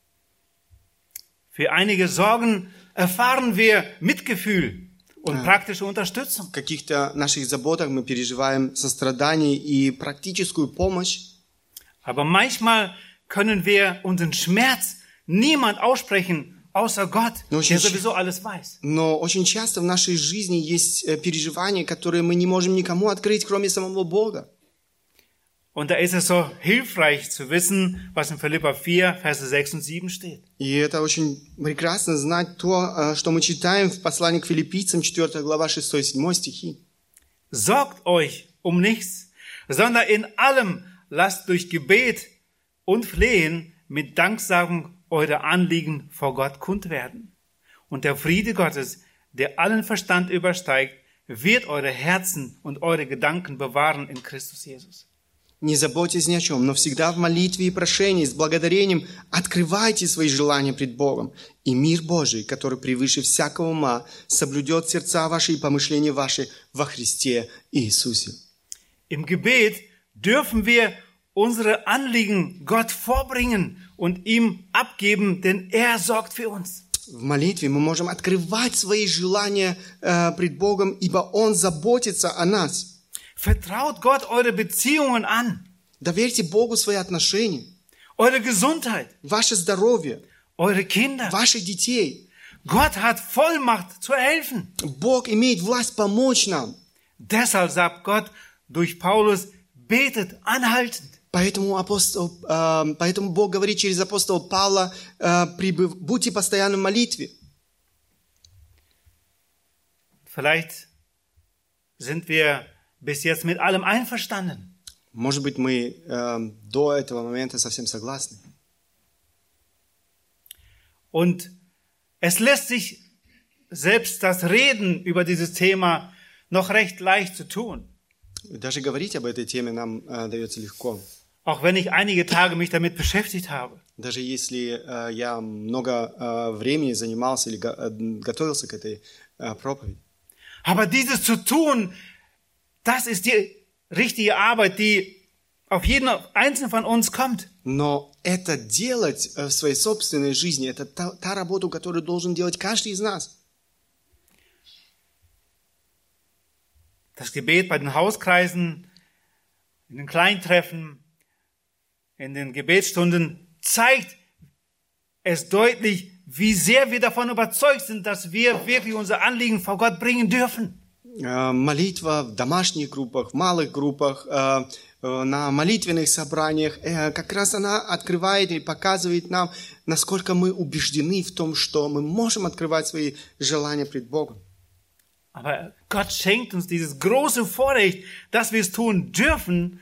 Für einige Sorgen erfahren wir Mitgefühl und praktische Unterstützung. В каких-то наших заботах мы переживаем сострадание и практическую помощь. Aber manchmal können wir unseren Schmerz niemand aussprechen, außer Gott, der sowieso alles weiß. Но очень часто в нашей жизни есть переживания, которые мы не можем никому открыть, кроме самого Бога. Und da ist es so hilfreich zu wissen, was in Philipper 4, Verse 6 und 7 steht. И это очень прекрасно знать то, что мы читаем в послании к Филиппийцам, 4 глава, 6-7 стихи. Sorgt euch um nichts, sondern in allem lasst durch Gebet und Flehen mit Danksagung eure Anliegen vor Gott kund werden. Und der Friede Gottes, der allen Verstand übersteigt, wird eure Herzen und eure Gedanken bewahren in Christus Jesus. Не заботьтесь ни о чем, но всегда в молитве и прошении с благодарением открывайте свои желания пред Богом. И мир Божий, который превыше всякого ума, соблюдет сердца ваши и помышления ваши во Христе Иисусе. Im Gebet dürfen wir unsere Anliegen Gott vorbringen und ihm abgeben, denn er sorgt für uns. В молитве мы можем открывать свои желания пред Богом, ибо Он заботится о нас. Vertraut Gott eure Beziehungen an, Доверьте Богу свои отношения, eure Gesundheit, ваше здоровье, eure Kinder. ваших детей. Gott hat Vollmacht zu helfen. Бог имеет власть помочь нам. Deshalb sagt Gott durch Paulus, betet anhaltend. Поэтому Бог говорит через апостола Павла, будьте постоянно в молитве. Vielleicht sind wir bis jetzt mit allem einverstanden. Может быть, мы до этого момента совсем согласны. Und es lässt sich selbst das Reden über dieses Thema noch recht leicht zu tun. Даже говорить об этой теме нам дается легко. Auch wenn ich einige Tage mich damit beschäftigt habe. Даже если я много времени занимался или готовился к этой проповеди. Aber dieses zu tun, das ist die richtige Arbeit, die auf jeden Einzelnen von uns kommt. Но это делать в своей собственной жизни, это та работа, которую должен делать каждый из нас. Das Gebet bei den Hauskreisen, in den Kleintreffen, in den Gebetsstunden zeigt es deutlich, wie sehr wir davon überzeugt sind, dass wir wirklich unser Anliegen vor Gott bringen dürfen. Молитва в домашних группах, в малых группах, на молитвенных собраниях, как раз она открывает и показывает нам, насколько мы убеждены в том, что мы можем открывать свои желания пред Богом. Aber Gott schenkt uns dieses große Vorrecht, dass wir es tun dürfen.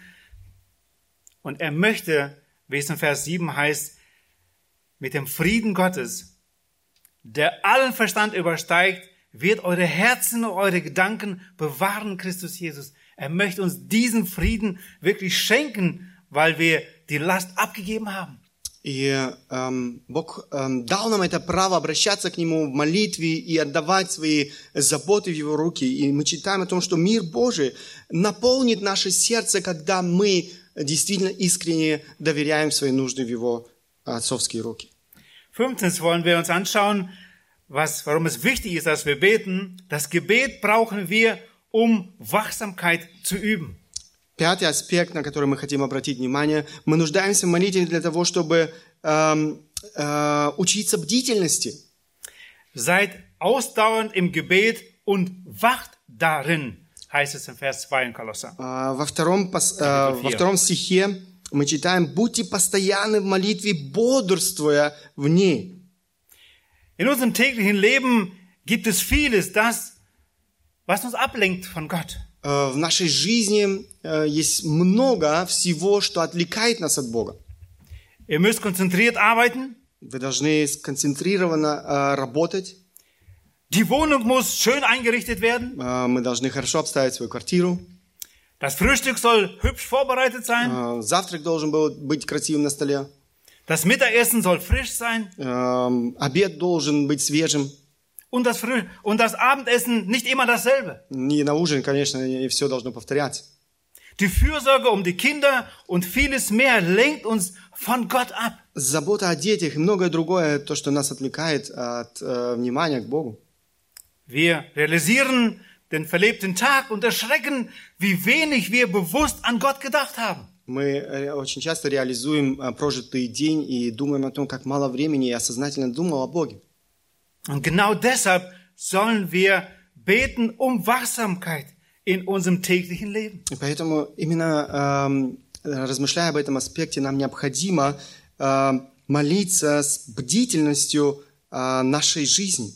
Und er möchte, wie es in Vers 7 heißt, mit dem Frieden Gottes, der allen Verstand übersteigt, wird eure Herzen und eure Gedanken bewahren, Christus Jesus. Er möchte uns diesen Frieden wirklich schenken, weil wir die Last abgegeben haben. И Бог дал нам это право обращаться к Нему в молитве и отдавать свои заботы в Его руки. И мы читаем о том, что мир Божий наполнит наше сердце, когда мы действительно искренне доверяем свои нужды в Его отцовские руки. 15. wollen wir uns anschauen, warum es wichtig ist, dass wir beten. Das Gebet brauchen wir, um Wachsamkeit zu üben. Пятый аспект, на который мы хотим обратить внимание, мы нуждаемся в молитве для того, чтобы учиться бдительности. Seid ausdauernd im Gebet und wacht darin, heißt es in Vers 2 in Kolosser. Во втором стихе мы читаем: «Будьте постоянны в молитве, бодрствуя в ней». In unserem täglichen Leben gibt es vieles, was uns ablenkt von Gott. В нашей жизни есть много всего, что отвлекает нас от Бога. Ihr müsst konzentriert arbeiten. Вы должны сконцентрированно работать. Die Wohnung muss schön eingerichtet werden. Мы должны хорошо обставить свою квартиру. Das Frühstück soll hübsch vorbereitet sein. Завтрак должен был быть красивым на столе. Das Mittagessen soll frisch sein. Обед должен быть свежим. Und das Abendessen nicht immer dasselbe. И на ужин, конечно, и все должно повторяться. Die Fürsorge um die Kinder und vieles mehr lenkt uns von Gott ab. Забота о детях и многое другое, то, что нас отвлекает от внимания к Богу. Wir realisieren den verlebten Tag und erschrecken, wie wenig wir bewusst an Gott gedacht haben. Мы очень часто реализуем прожитый день и думаем о том, как мало времени я сознательно думал о Боге. Und genau deshalb sollen wir beten um Wachsamkeit in unserem täglichen Leben. И поэтому именно размышляя об этом аспекте, нам необходимо молиться с бдительностью нашей жизни.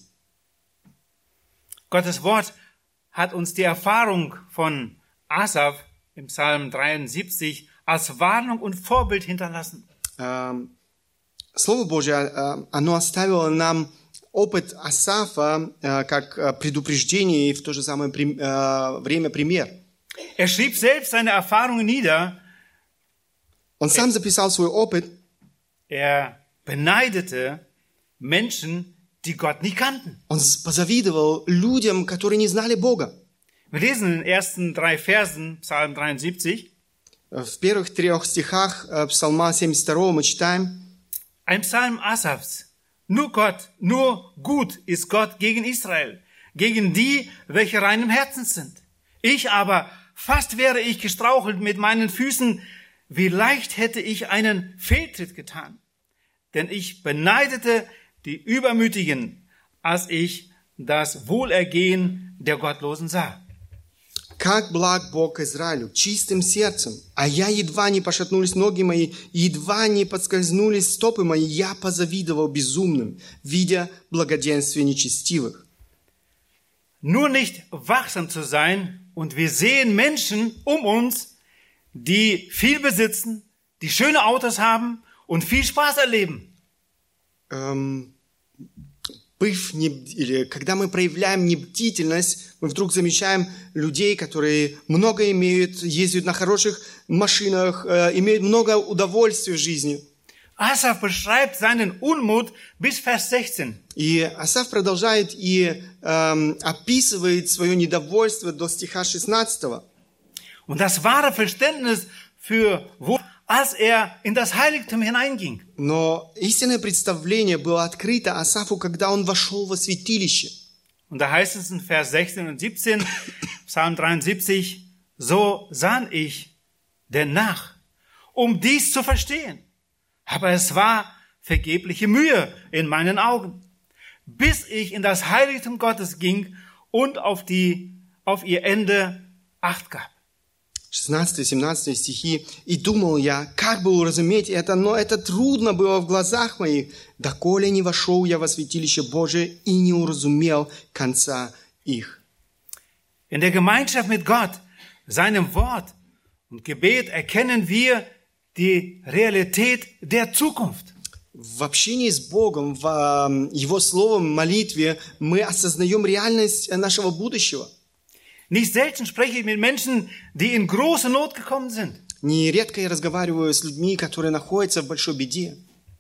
Gottes Wort hat uns die Erfahrung von Asaf im Psalm 73 als Warnung und Vorbild hinterlassen. Слово Божье, оно оставило нам опыт Асафа как предупреждение и в то же самое время пример. Er schrieb selbst seine Erfahrungen nieder. Он сам записал свой опыт. Er beneidete Menschen, die Gott nicht kannten. Он позавидовал людям, которые не знали Бога. Wir lesen in den ersten 3 Versen, Psalm 73. В первых 3 стихах Псалма 72 мы читаем: Ein Psalm Asafs. Nur Gott, nur gut ist Gott gegen Israel, gegen die, welche rein im Herzen sind. Ich aber, fast wäre ich gestrauchelt mit meinen Füßen, wie leicht hätte ich einen Fehltritt getan. Denn ich beneidete die Übermütigen, als ich das Wohlergehen der Gottlosen sah. «Как благ Бог Израилю, чистым сердцем, а я едва не пошатнулись ноги мои, едва не подскользнулись стопы мои, я позавидовал безумным, видя благоденствие нечестивых». Nur nicht wachsam zu sein, und wir sehen Menschen um uns, die viel besitzen, die schöne Autos haben und viel Spaß erleben. Когда мы проявляем небдительность, мы вдруг замечаем людей, которые много имеют, ездят на хороших машинах, имеют много удовольствия в жизни. Asaf beschreibt seinen Unmut bis Vers 16. И Асаф продолжает и описывает свое недовольство до стиха 16. Und das wahre Verständnis für als in das Heiligtum hineinging. Но истинное представление было открыто Асафу, когда он вошел во святилище. Und da heißt es in Vers 16 und 17, Psalm 73, so sann ich denn nach, um dies zu verstehen. Aber es war vergebliche Mühe in meinen Augen, bis ich in das Heiligtum Gottes ging und auf ihr Ende Acht gab. 16-17 стихи. «И думал я, как бы уразуметь это, но это трудно было в глазах моих, доколе не вошел я во святилище Божие и не уразумел конца их». In der Gemeinschaft mit Gott, seinem Wort und Gebet erkennen wir die Realität der Zukunft. В общении с Богом, в Его Словом, молитве мы осознаем реальность нашего будущего. Nicht selten spreche ich mit Menschen, die in große Not gekommen sind. Нередко я разговариваю с людьми, которые находятся в большой беде.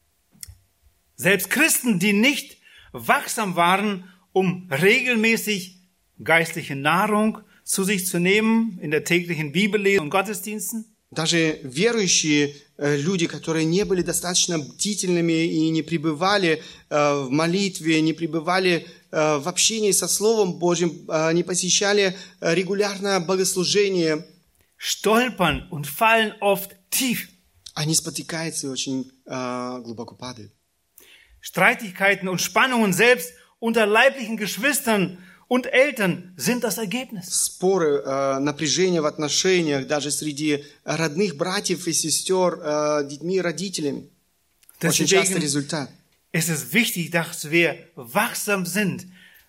Selbst Christen, die nicht wachsam waren, um regelmäßig geistliche Nahrung zu sich zu nehmen in der täglichen Bibellesung und Gottesdiensten. Даже верующие люди, которые не были достаточно бдительными и не пребывали в молитве, не пребывали в общении со Словом Божьим, не посещали регулярно богослужение, stolpern und fallen oft tief. Они спотыкаются и очень глубоко падают. Streitigkeiten und Spannungen selbst unter leiblichen Geschwistern und Eltern sind das Ergebnis. Споры, напряжение в отношениях даже среди родных братьев и сестер, детьми и родителями. Очень часто результат. Es ist wichtig, dass wir wachsam sind.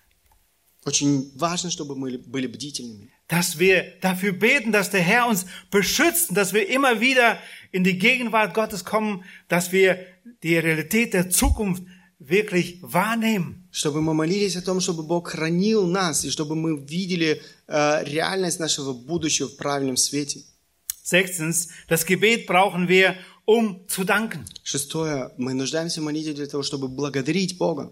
Очень важно, чтобы мы были бдительными. Dass wir dafür beten, dass der Herr uns beschützt, dass wir immer wieder in die Gegenwart Gottes kommen, dass wir die Realität der Zukunft wirklich wahrnehmen. Чтобы мы молились о том, чтобы Бог хранил нас, и чтобы мы видели реальность нашего будущего в правильном свете. Sechstens, das Gebet brauchen wir, um zu danken. Шестое, мы нуждаемся в молитве для того, чтобы благодарить Бога.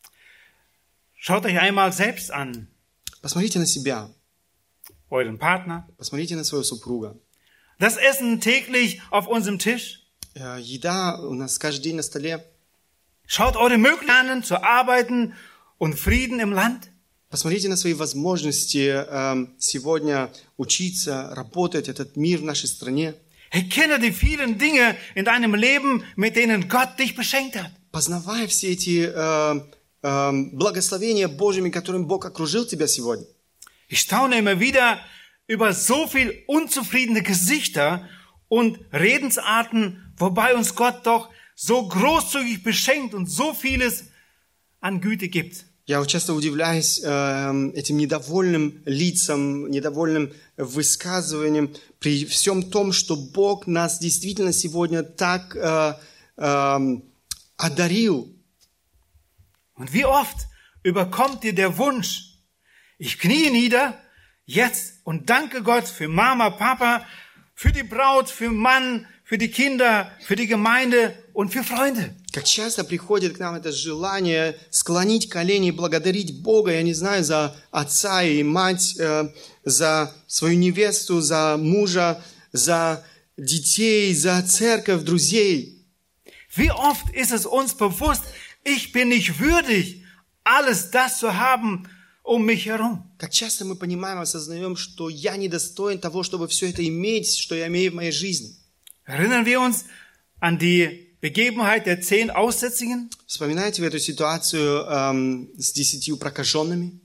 Schaut euch einmal selbst an. Посмотрите на себя. Euren Partner. Посмотрите на своего супруга. Das Essen täglich auf unserem Tisch. Еда у нас каждый день на столе. Schaut eure Möglichkeiten an, zu arbeiten und Frieden im Land. Посмотрите на свои возможности сегодня учиться, работать, этот мир в нашей стране. Erkenne die vielen Dinge in deinem Leben, mit denen Gott dich beschenkt hat. Познавай все эти благословения Божьими, которыми Бог окружил тебя сегодня. Ich staune immer wieder über so viel unzufriedene Gesichter und Redensarten, wobei uns Gott doch so großzügig beschenkt und so vieles an Güte gibt. Я часто удивляюсь этим недовольным лицам, недовольным высказываниям при всем том, что Бог нас действительно сегодня так одарил. Und wie oft überkommt dir der Wunsch, ich knie nieder jetzt und danke Gott für Mama, Papa, für die Braut, für Mann, für die Kinder, für die Gemeinde und für Freunde. Как часто приходит к нам это желание склонить колени и благодарить Бога, я не знаю, за отца и мать, за свою невесту, за мужа, за детей, за церковь, друзей. Wie oft ist es uns bewusst, ich bin nicht würdig, alles das zu haben um mich herum. Как часто мы понимаем, осознаем, что я недостоин того, чтобы все это иметь, что я имею в моей жизни. Erinnern wir uns an die Begebenheit der 10 Aussätzigen? Вспоминаете вы эту ситуацию с 10 прокаженными?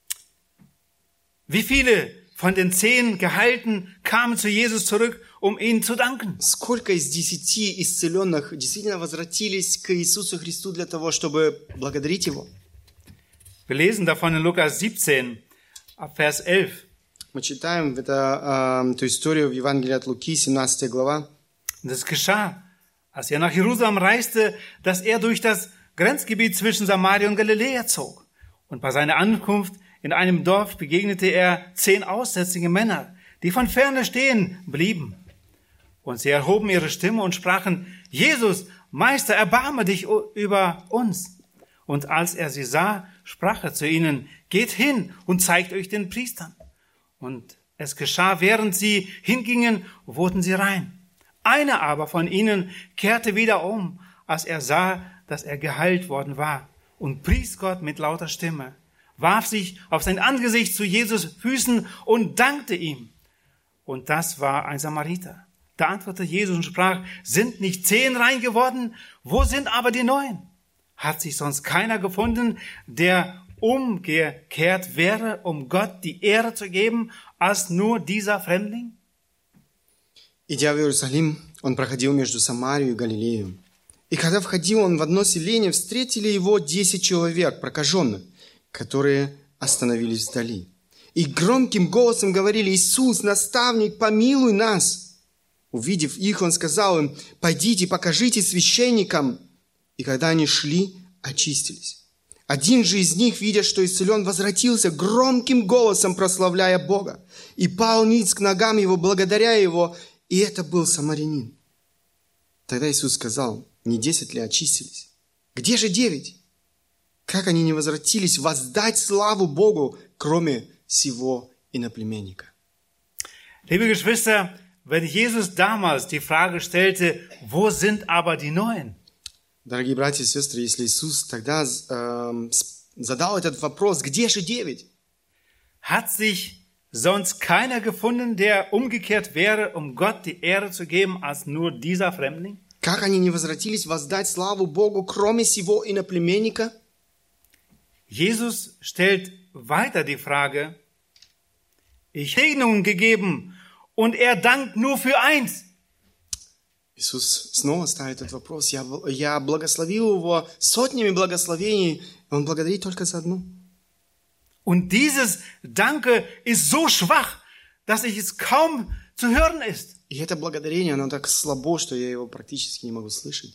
Wie viele von den 10 Geheilten kamen zu Jesus zurück, um ihnen zu danken? Сколько из 10 исцеленных действительно возвратились к Иисусу Христу для того, чтобы благодарить Его? Wir lesen davon in Lukas 17, ab Vers 11. Мы читаем эту историю в Евангелии от Луки, 17 глава. Und es geschah, als er nach Jerusalem reiste, dass er durch das Grenzgebiet zwischen Samaria und Galiläa zog. Und bei seiner Ankunft in einem Dorf begegnete er 10 aussätzige Männer, die von ferne stehen blieben. Und sie erhoben ihre Stimme und sprachen, Jesus, Meister, erbarme dich über uns. Und als er sie sah, sprach er zu ihnen, geht hin und zeigt euch den Priestern. Und es geschah, während sie hingingen, wurden sie rein. Einer aber von ihnen kehrte wieder um, als er sah, dass er geheilt worden war, und pries Gott mit lauter Stimme, warf sich auf sein Angesicht zu Jesus Füßen und dankte ihm. Und das war ein Samariter. Da antwortete Jesus und sprach, sind nicht 10 rein geworden? Wo sind aber die 9? Hat sich sonst keiner gefunden, der umgekehrt wäre, um Gott die Ehre zu geben, als nur dieser Fremdling? Идя в Иерусалим, он проходил между Самарией и Галилеей. И когда входил он в одно селение, встретили его 10 человек, прокаженных, которые остановились вдали. И громким голосом говорили, Иисус, наставник, помилуй нас. Увидев их, он сказал им, пойдите, покажите священникам. И когда они шли, очистились. Один же из них, видя, что исцелен, возвратился, громким голосом прославляя Бога. И пал ниц к ногам его, благодаря его, и это был самарянин. Тогда Иисус сказал, не 10 ли очистились? Где же 9? Как они не возвратились воздать славу Богу, кроме сего иноплеменника? Liebe Geschwister, wenn Jesus damals die Frage stellte, wo sind aber die 9? Дорогие братья и сестры, если Иисус тогда задал этот вопрос, где же 9? Hat sich sonst keiner gefunden, der umgekehrt wäre, um Gott die Ehre zu geben, als nur dieser Fremdling? Как они не возвратились воздать славу Богу, кроме сего иноплеменника? Jesus stellt weiter die Frage, ich habe Segnungen gegeben und er dankt nur für eins. Иисус снова ставит этот вопрос. Я благословил его сотнями благословений, он благодарит только за одну. Und dieses Danke ist so schwach, dass es kaum zu hören ist. И это благодарение, оно так слабо, что я его практически не могу слышать.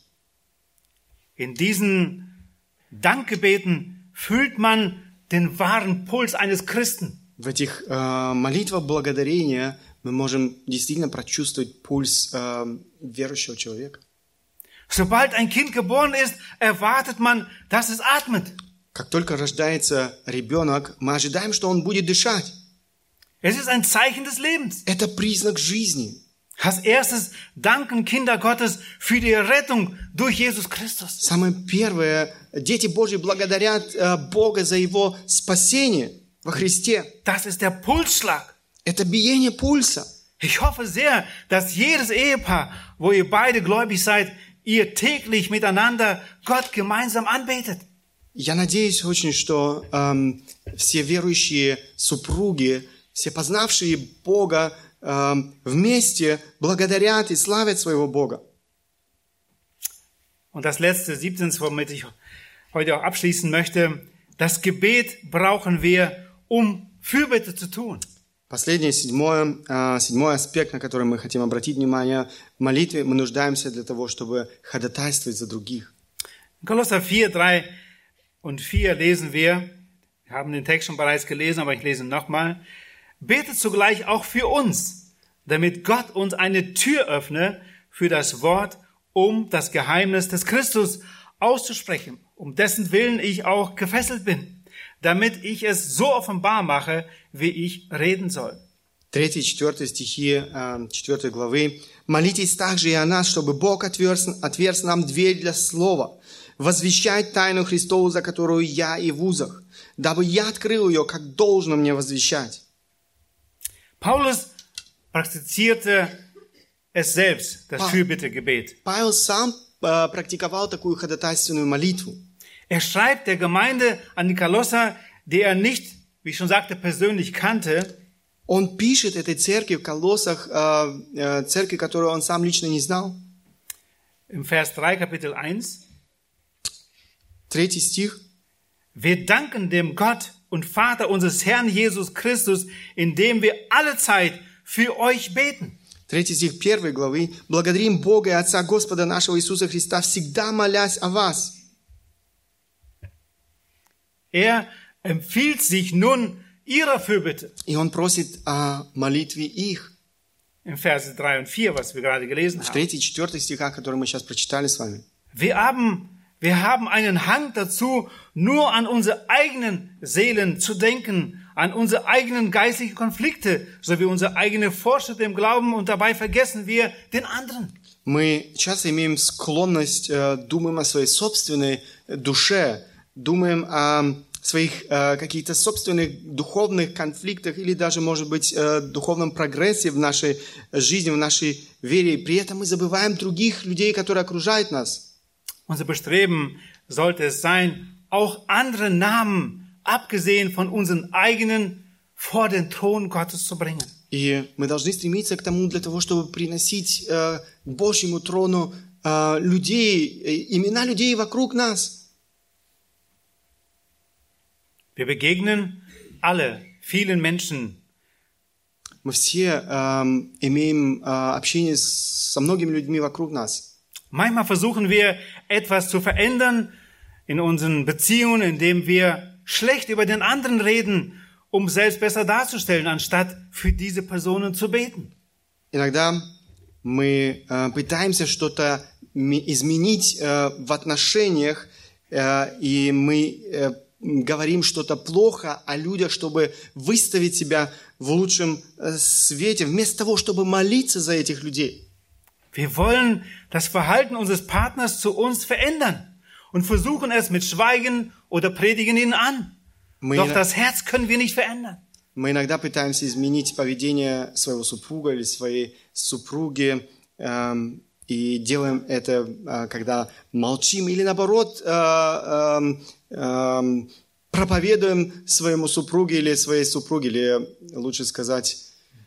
In diesen Dankgebeten fühlt man den wahren Puls eines Christen. В этих молитвах благодарения мы можем действительно прочувствовать пульс верующего человека. Sobald ein Kind geboren ist, erwartet man, dass es atmet. Как только рождается ребенок, мы ожидаем, что он будет дышать. Es ist ein Zeichen des Lebens. Это признак жизни. Als erstes danken Kinder Gottes für die Rettung durch Jesus Christus. Самое первое, дети Божьи благодарят Бога за Его спасение во Христе. Das ist der Pulsschlag. Это биение пульса. Ich hoffe sehr, dass jedes Ehepaar, wo ihr beide gläubig seid, ihr täglich miteinander Gott gemeinsam anbetet. Я надеюсь очень, что все верующие супруги, все познавшие Бога, вместе благодарят и славят своего Бога. Und das letzte, 17, womit ich heute auch abschließen möchte, das Gebet brauchen wir, um Fürbitte zu tun. Последний, седьмой аспект, на который мы хотим обратить внимание, в молитве мы нуждаемся для того, чтобы ходатайствовать за других. Kolosser 4, 3 und 4 lesen wir haben den Text schon bereits gelesen, aber ich lese ihn nochmal. Betet zugleich auch für uns, damit Gott uns eine Tür öffne für das Wort, um das Geheimnis des Christus auszusprechen, um dessen Willen ich auch gefesselt bin, damit ich es so offenbar mache, wie ich reden soll. 3-4 стихи 4 главы. «Молитесь также и о нас, чтобы Бог отверз нам дверь для слова, возвещать тайну Христову, за которую я и в узах, дабы я открыл ее, как должно мне возвещать». Paulus praktizierte es selbst, das Fürbittegebet. Павел сам практиковал такую ходатайственную молитву. Er schreibt der Gemeinde an die Kolosser, die er nicht, wie ich schon sagte, persönlich kannte. Он пишет этой церкви в Колоссах, церкви, которую он сам лично не знал. Im Vers 3, Kapitel 1. 3 стих. Wir danken dem Gott und Vater unseres Herrn Jesus Christus, indem wir alle Zeit für euch beten. 3 стих 1 главы. «Благодарим Бога и Отца Господа нашего Иисуса Христа, всегда молясь о вас». Er empfiehlt sich nun ihrer Fürbitte. И он просит о молитве их. Im Vers 3 und 4, was wir gerade gelesen В haben. 3 и 4 стихах, которые мы сейчас прочитали с вами. Wir haben einen Hang dazu, nur an unsere eigenen Seelen zu denken, an unsere eigenen geistlichen Konflikte, sowie unsere eigene Fortschritte im Glauben, und dabei vergessen wir den anderen. Мы часто имеем склонность, думаем о своей собственной душе, думаем о своих каких-то собственных духовных конфликтах или даже, может быть, духовном прогрессе в нашей жизни, в нашей вере. И при этом мы забываем других людей, которые окружают нас. Unser Bestreben sollte es sein, auch andere Namen, abgesehen von unseren eigenen, vor den Thron Gottes zu bringen. И мы должны стремиться к тому, для того, чтобы приносить к Божьему трону людей, имена людей вокруг нас. Wir begegnen alle, vielen Menschen, Мы все имеем общение со многими людьми вокруг нас. manchmal versuchen wir, etwas zu verändern in unseren Beziehungen, indem wir schlecht über den anderen reden, um selbst besser darzustellen, anstatt für diese Personen zu beten. Иногда мы пытаемся что-то изменить в отношениях, и мы говорим что-то плохо о людях, чтобы выставить себя в лучшем свете, вместо того, чтобы молиться за этих людей. Wir wollen das Verhalten unseres Partners zu uns verändern und versuchen es mit Schweigen oder predigen ihn an. Doch das Herz können wir nicht verändern. Мы иногда пытаемся изменить поведение своего супруга или своей супруги, и делаем это, когда молчим, или наоборот, проповедуем своему супругу или своей супруге, или лучше сказать,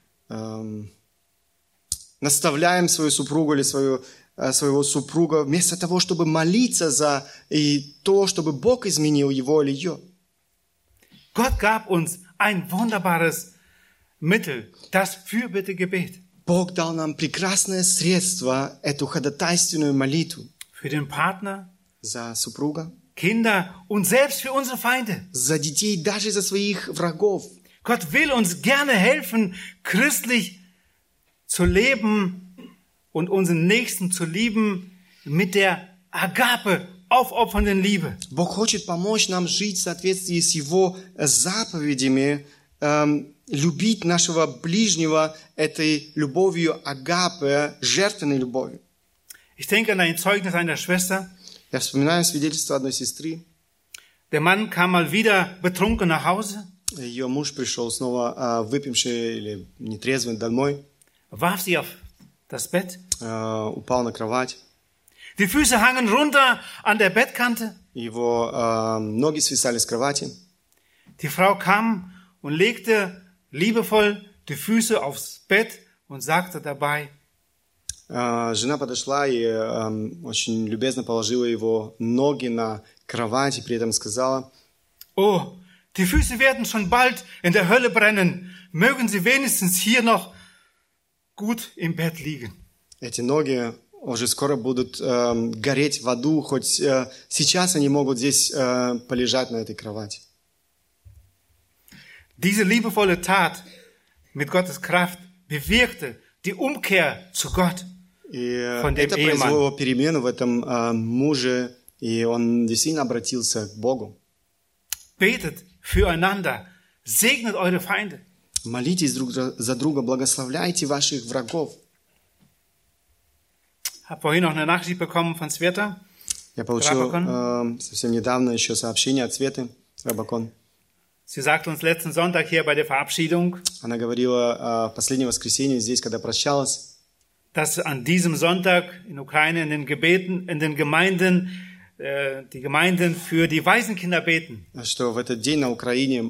наставляем свою супругу или своего супруга, вместо того, чтобы молиться за и то, чтобы Бог изменил его или ее. Gott gab uns ein wunderbares Mittel, das Fürbittegebet. Бог дал нам прекрасное средство, эту ходатайственную молитву. Für den Partner, За супруга, Kinder und selbst für unsere Feinde. за детей, даже за своих врагов. Gott will uns gerne helfen, christlich zu leben und unseren Nächsten zu lieben mit der Agape, aufopfernden Liebe. Бог хочет помочь нам жить в соответствии с Его заповедями, любить нашего ближнего этой любовью агапе, жертвенной любовью. Ich denke an ein Zeugnis einer Schwester. Я вспоминаю свидетельство одной сестры. Der Mann kam mal wieder betrunken nach Hause, Ее муж пришел снова выпивший или нетрезвый домой, warf sie auf das Bett. упал на кровать. Die Füße hangen runter an der Bettkante. Его ноги свисали с кровати. Die Frau kam und legte liebevoll die Füße aufs Bett und sagte dabei: Жена подошла и очень любезно положила его ноги на кровать и при этом сказала: Oh, die Füße werden schon bald in der Hölle brennen. Mögen sie wenigstens hier noch gut im Bett liegen. эти ноги уже скоро будут гореть в аду, хоть сейчас они могут здесь полежать на этой кровати. Diese liebevolle Tat mit Gottes Kraft bewirkte die Umkehr zu Gott И von dem это произвело Ehemann. перемену в этом муже, и он действительно обратился к Богу. Betet füreinander, segnet eure Feinde. Молитесь друг за друга, благословляйте ваших врагов. Habe vorhin noch eine Nachricht bekommen von Sveta. Я получил Рабакон. совсем недавно еще сообщение от Светы Рабакон. Sie sagte uns letzten Sonntag hier bei der Verabschiedung, Она говорила в последнее воскресенье здесь, когда прощалась, dass an diesem Sonntag in Ukraine in den Gebeten, in den Gemeinden, die Gemeinden für die Waisenkinder beten. что в этот день на Украине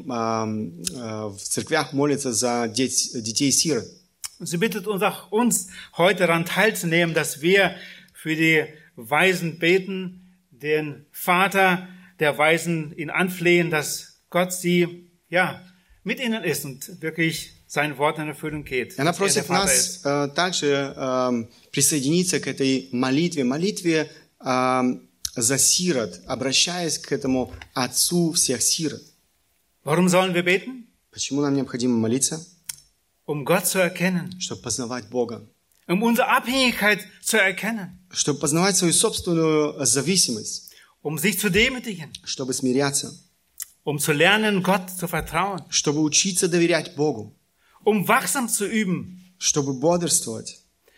в церквях молятся за детей-сирот. Und sie bittet uns auch uns heute daran teilzunehmen, dass wir für die Waisen beten, den Vater der Waisen ihn anflehen, dass Gott sie, mit ihnen ist und wirklich sein Wort in Erfüllung geht. Она Dass er der просит Vater нас ist. также присоединиться к этой молитве за сирот, обращаясь к этому Отцу всех сирот. Warum sollen wir beten? Почему нам необходимо молиться? Um Gott zu erkennen, Чтобы познавать Бога, um unsere Abhängigkeit zu erkennen, чтобы познавать свою собственную зависимость, um sich zu demütigen, чтобы смиряться, um zu lernen, Gott zu vertrauen, чтобы учиться доверять Богу, um wachsam zu üben, чтобы бодрствовать,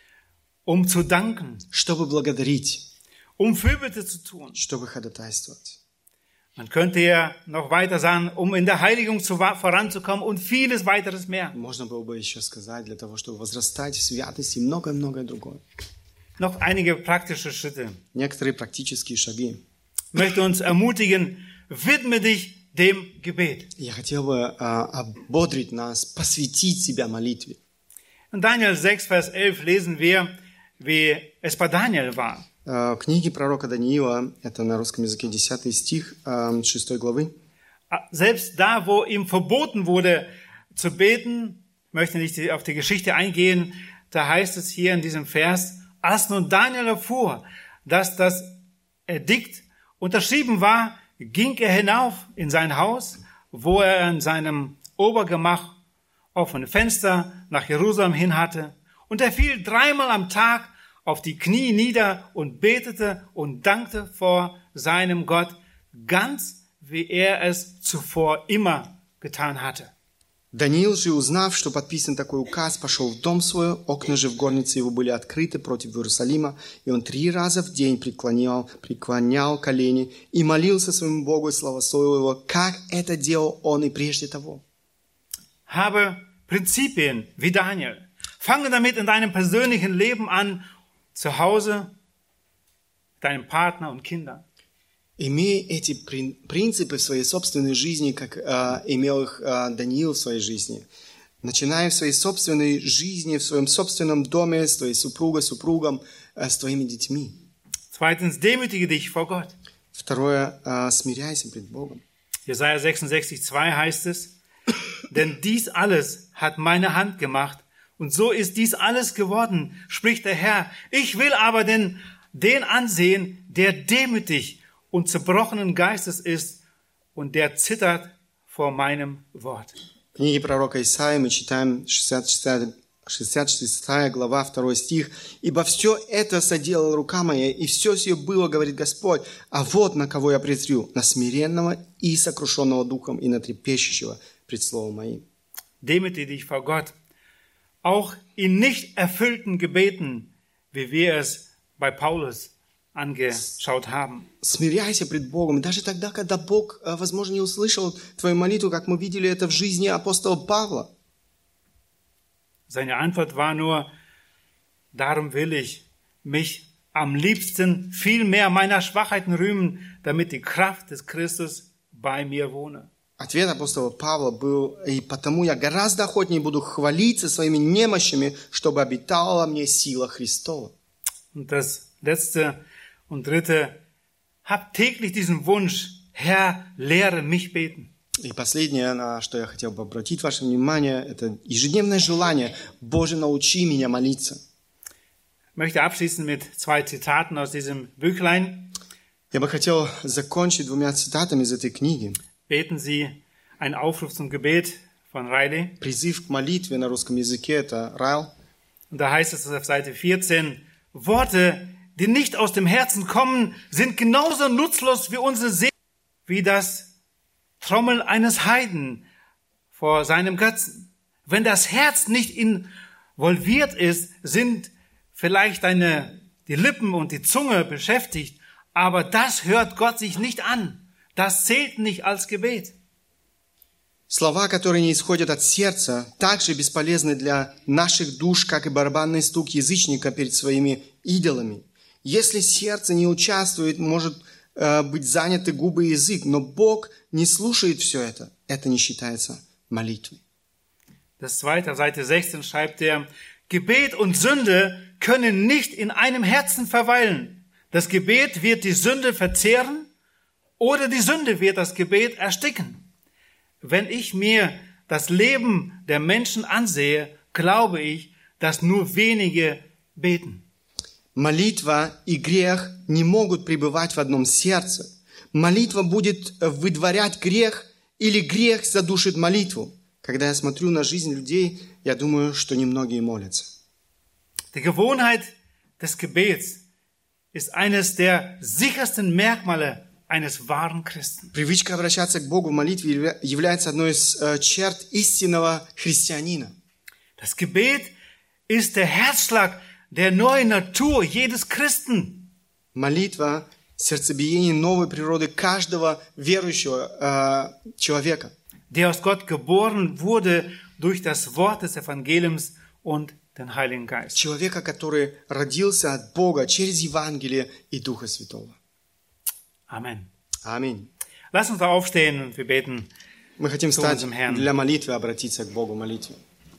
um zu danken, чтобы благодарить, um Fürbitte zu tun. чтобы ходатайствовать. Man könnte ja noch weiter sagen, um in der Heiligung voranzukommen und vieles weiteres mehr. Можно было бы еще сказать, для того, чтобы возрастать в святости и многое-многое другое. Noch einige praktische Schritte. Некоторые практические шаги. Ich möchte uns ermutigen, widme dich dem Gebet. Я хотел бы ободрить нас, посвятить себя молитве. In Daniel 6, Vers 11 lesen wir, wie es bei Daniel war. В книге пророка Даниила, это на русском языке 10 стих 6 главы, Selbst da, wo ihm verboten wurde zu beten, ich möchte nicht auf die Geschichte eingehen, da heißt es hier in diesem Vers, als nun Daniel erfuhr, dass das Edikt unterschrieben war, ging er hinauf in sein Haus, wo er in seinem Obergemach offene Fenster nach Jerusalem hin hatte, und er fiel 3-mal am Tag auf die Knie nieder und betete und dankte vor seinem Gott, ganz wie er es zuvor immer getan hatte. Даниил же, узнав, что подписан такой указ, пошел в дом свой, окна же в горнице его были открыты против Иерусалима, и он 3 раза в день преклонял колени и молился своему Богу и славословил его, как это делал он и прежде того. Habe Prinzipien wie Daniel. Fange damit in deinem persönlichen Leben an, zu Hause, deinem Partner und Kindern. Имей эти принципы в своей собственной жизни, как имел их Даниил в своей жизни. Начиная в своей собственной жизни, в своем собственном доме, с твоей супругой, супругом, с твоими детьми. Zweitens, demütige dich vor Gott. Второе, смиряйся пред Богом. Jesaja 66,2 heißt es, denn dies alles hat meine Hand gemacht, und so ist dies alles geworden, spricht der Herr. Ich will aber den ansehen, der demütig und zerbrochenen Geistes ist und der zittert vor meinem Wort. В книге пророка Исаии мы читаем 66 глава, 2 стих. «Ибо все это соделала рука моя, и все сие было, говорит Господь, а вот на кого я презрю, на смиренного и сокрушенного духом, и на трепещущего пред словом моим». Demütige dich vor Gott, auch in nicht erfüllten Gebeten, wie wir es bei Paulus angeschaut haben. Смиряйся пред Богом, даже тогда, когда Бог, возможно, не услышал твою молитву, как мы видели это в жизни апостола Павла. Seine Antwort war nur, darum will ich mich am liebsten viel mehr meiner Schwachheiten rühmen, damit die Kraft des Christus bei mir wohne. Ответ апостола Павла был, и потому я гораздо охотнее буду хвалиться своими немощами, чтобы обитала мне сила Христова. Und das letzte und dritte, hab täglich diesen Wunsch, Herr, lehre mich beten. И последнее, на что я хотел бы обратить ваше внимание, это ежедневное желание, Боже, научи меня молиться. möchte abschließen mit 2 Zitaten aus diesem Büchlein. Я бы хотел закончить 2 цитатами из этой книги. Beten Sie einen Aufruf zum Gebet von Riley. Призыв к молитве на русском языке – это Райл. Und da heißt es auf Seite 14, Worte, die nicht aus dem Herzen kommen, sind genauso nutzlos wie unsere Seele, wie das Trommeln eines Heiden vor seinem Götzen. Wenn das Herz nicht involviert ist, sind vielleicht die Lippen und die Zunge beschäftigt, aber das hört Gott sich nicht an. Das zählt nicht als Gebet. Слова, которые не исходят от сердца, также бесполезны для наших душ, как и барабанный стук язычника перед своими идолами. Если сердце не участвует, может быть заняты губы и язык, но Бог не слушает все это. Это не считается молитвой. Das zweite, auf Seite 16 schreibt er, Gebet und Sünde können nicht in einem Herzen verweilen. Das Gebet wird die Sünde verzehren oder die Sünde wird das Gebet ersticken. Wenn ich mir das Leben der Menschen ansehe, glaube ich, dass nur wenige beten. Молитва и грех не могут пребывать в одном сердце. Молитва будет выдворять грех, или грех задушит молитву. Когда я смотрю на жизнь людей, я думаю, что немногие молятся. Die Gewohnheit des Gebets ist eines der sichersten Merkmale eines wahren Christen. Привычка обращаться к Богу в молитве является одной из черт истинного христианина. Das Gebet ist der Herzschlag der neuen Natur jedes Christen. Молитва – сердцебиение новой природы каждого верующего человека. Der aus Gott geboren wurde durch das Wort des Evangeliums und den Heiligen Geist. Человека, который родился от Бога через Евангелие и Духа Святого. Amen. Аминь. Lass uns aufstehen und wir beten. Мы хотим стать unserem Herrn. для молитвы, обратиться к Богу в молитве.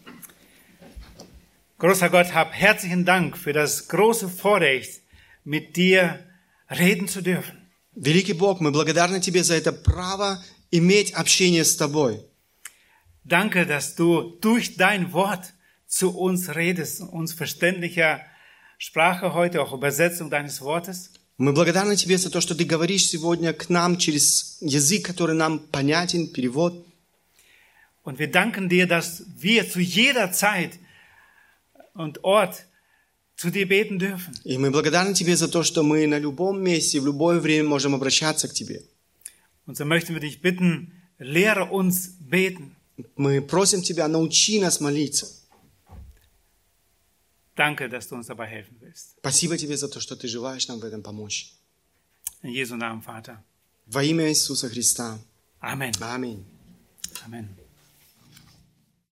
Großer Gott, hab herzlichen Dank für das große Vorrecht, mit dir reden zu dürfen. Великий Бог, мы благодарны Тебе за это право иметь общение с Тобой. Danke, dass du durch dein Wort zu uns redest, uns verständlicher Sprache heute, auch Übersetzung deines Wortes. Мы благодарны Тебе за то, что Ты говоришь сегодня к нам через язык, который нам понятен, перевод. Und wir danken dir, dass wir zu jeder Zeit und Ort zu dir beten dürfen. И мы благодарны Тебе за то, что мы на любом месте, в любое время можем обращаться к Тебе. Und so möchten wir dich bitten, lehre uns beten. Мы просим Тебя, научи нас молиться. Danke, dass du uns dabei helfen willst. Спасибо Тебе за то, что Ты желаешь нам в этом помочь. In Jesu Namen, Vater. Во имя Иисуса Христа. Amen. Аминь. Amen.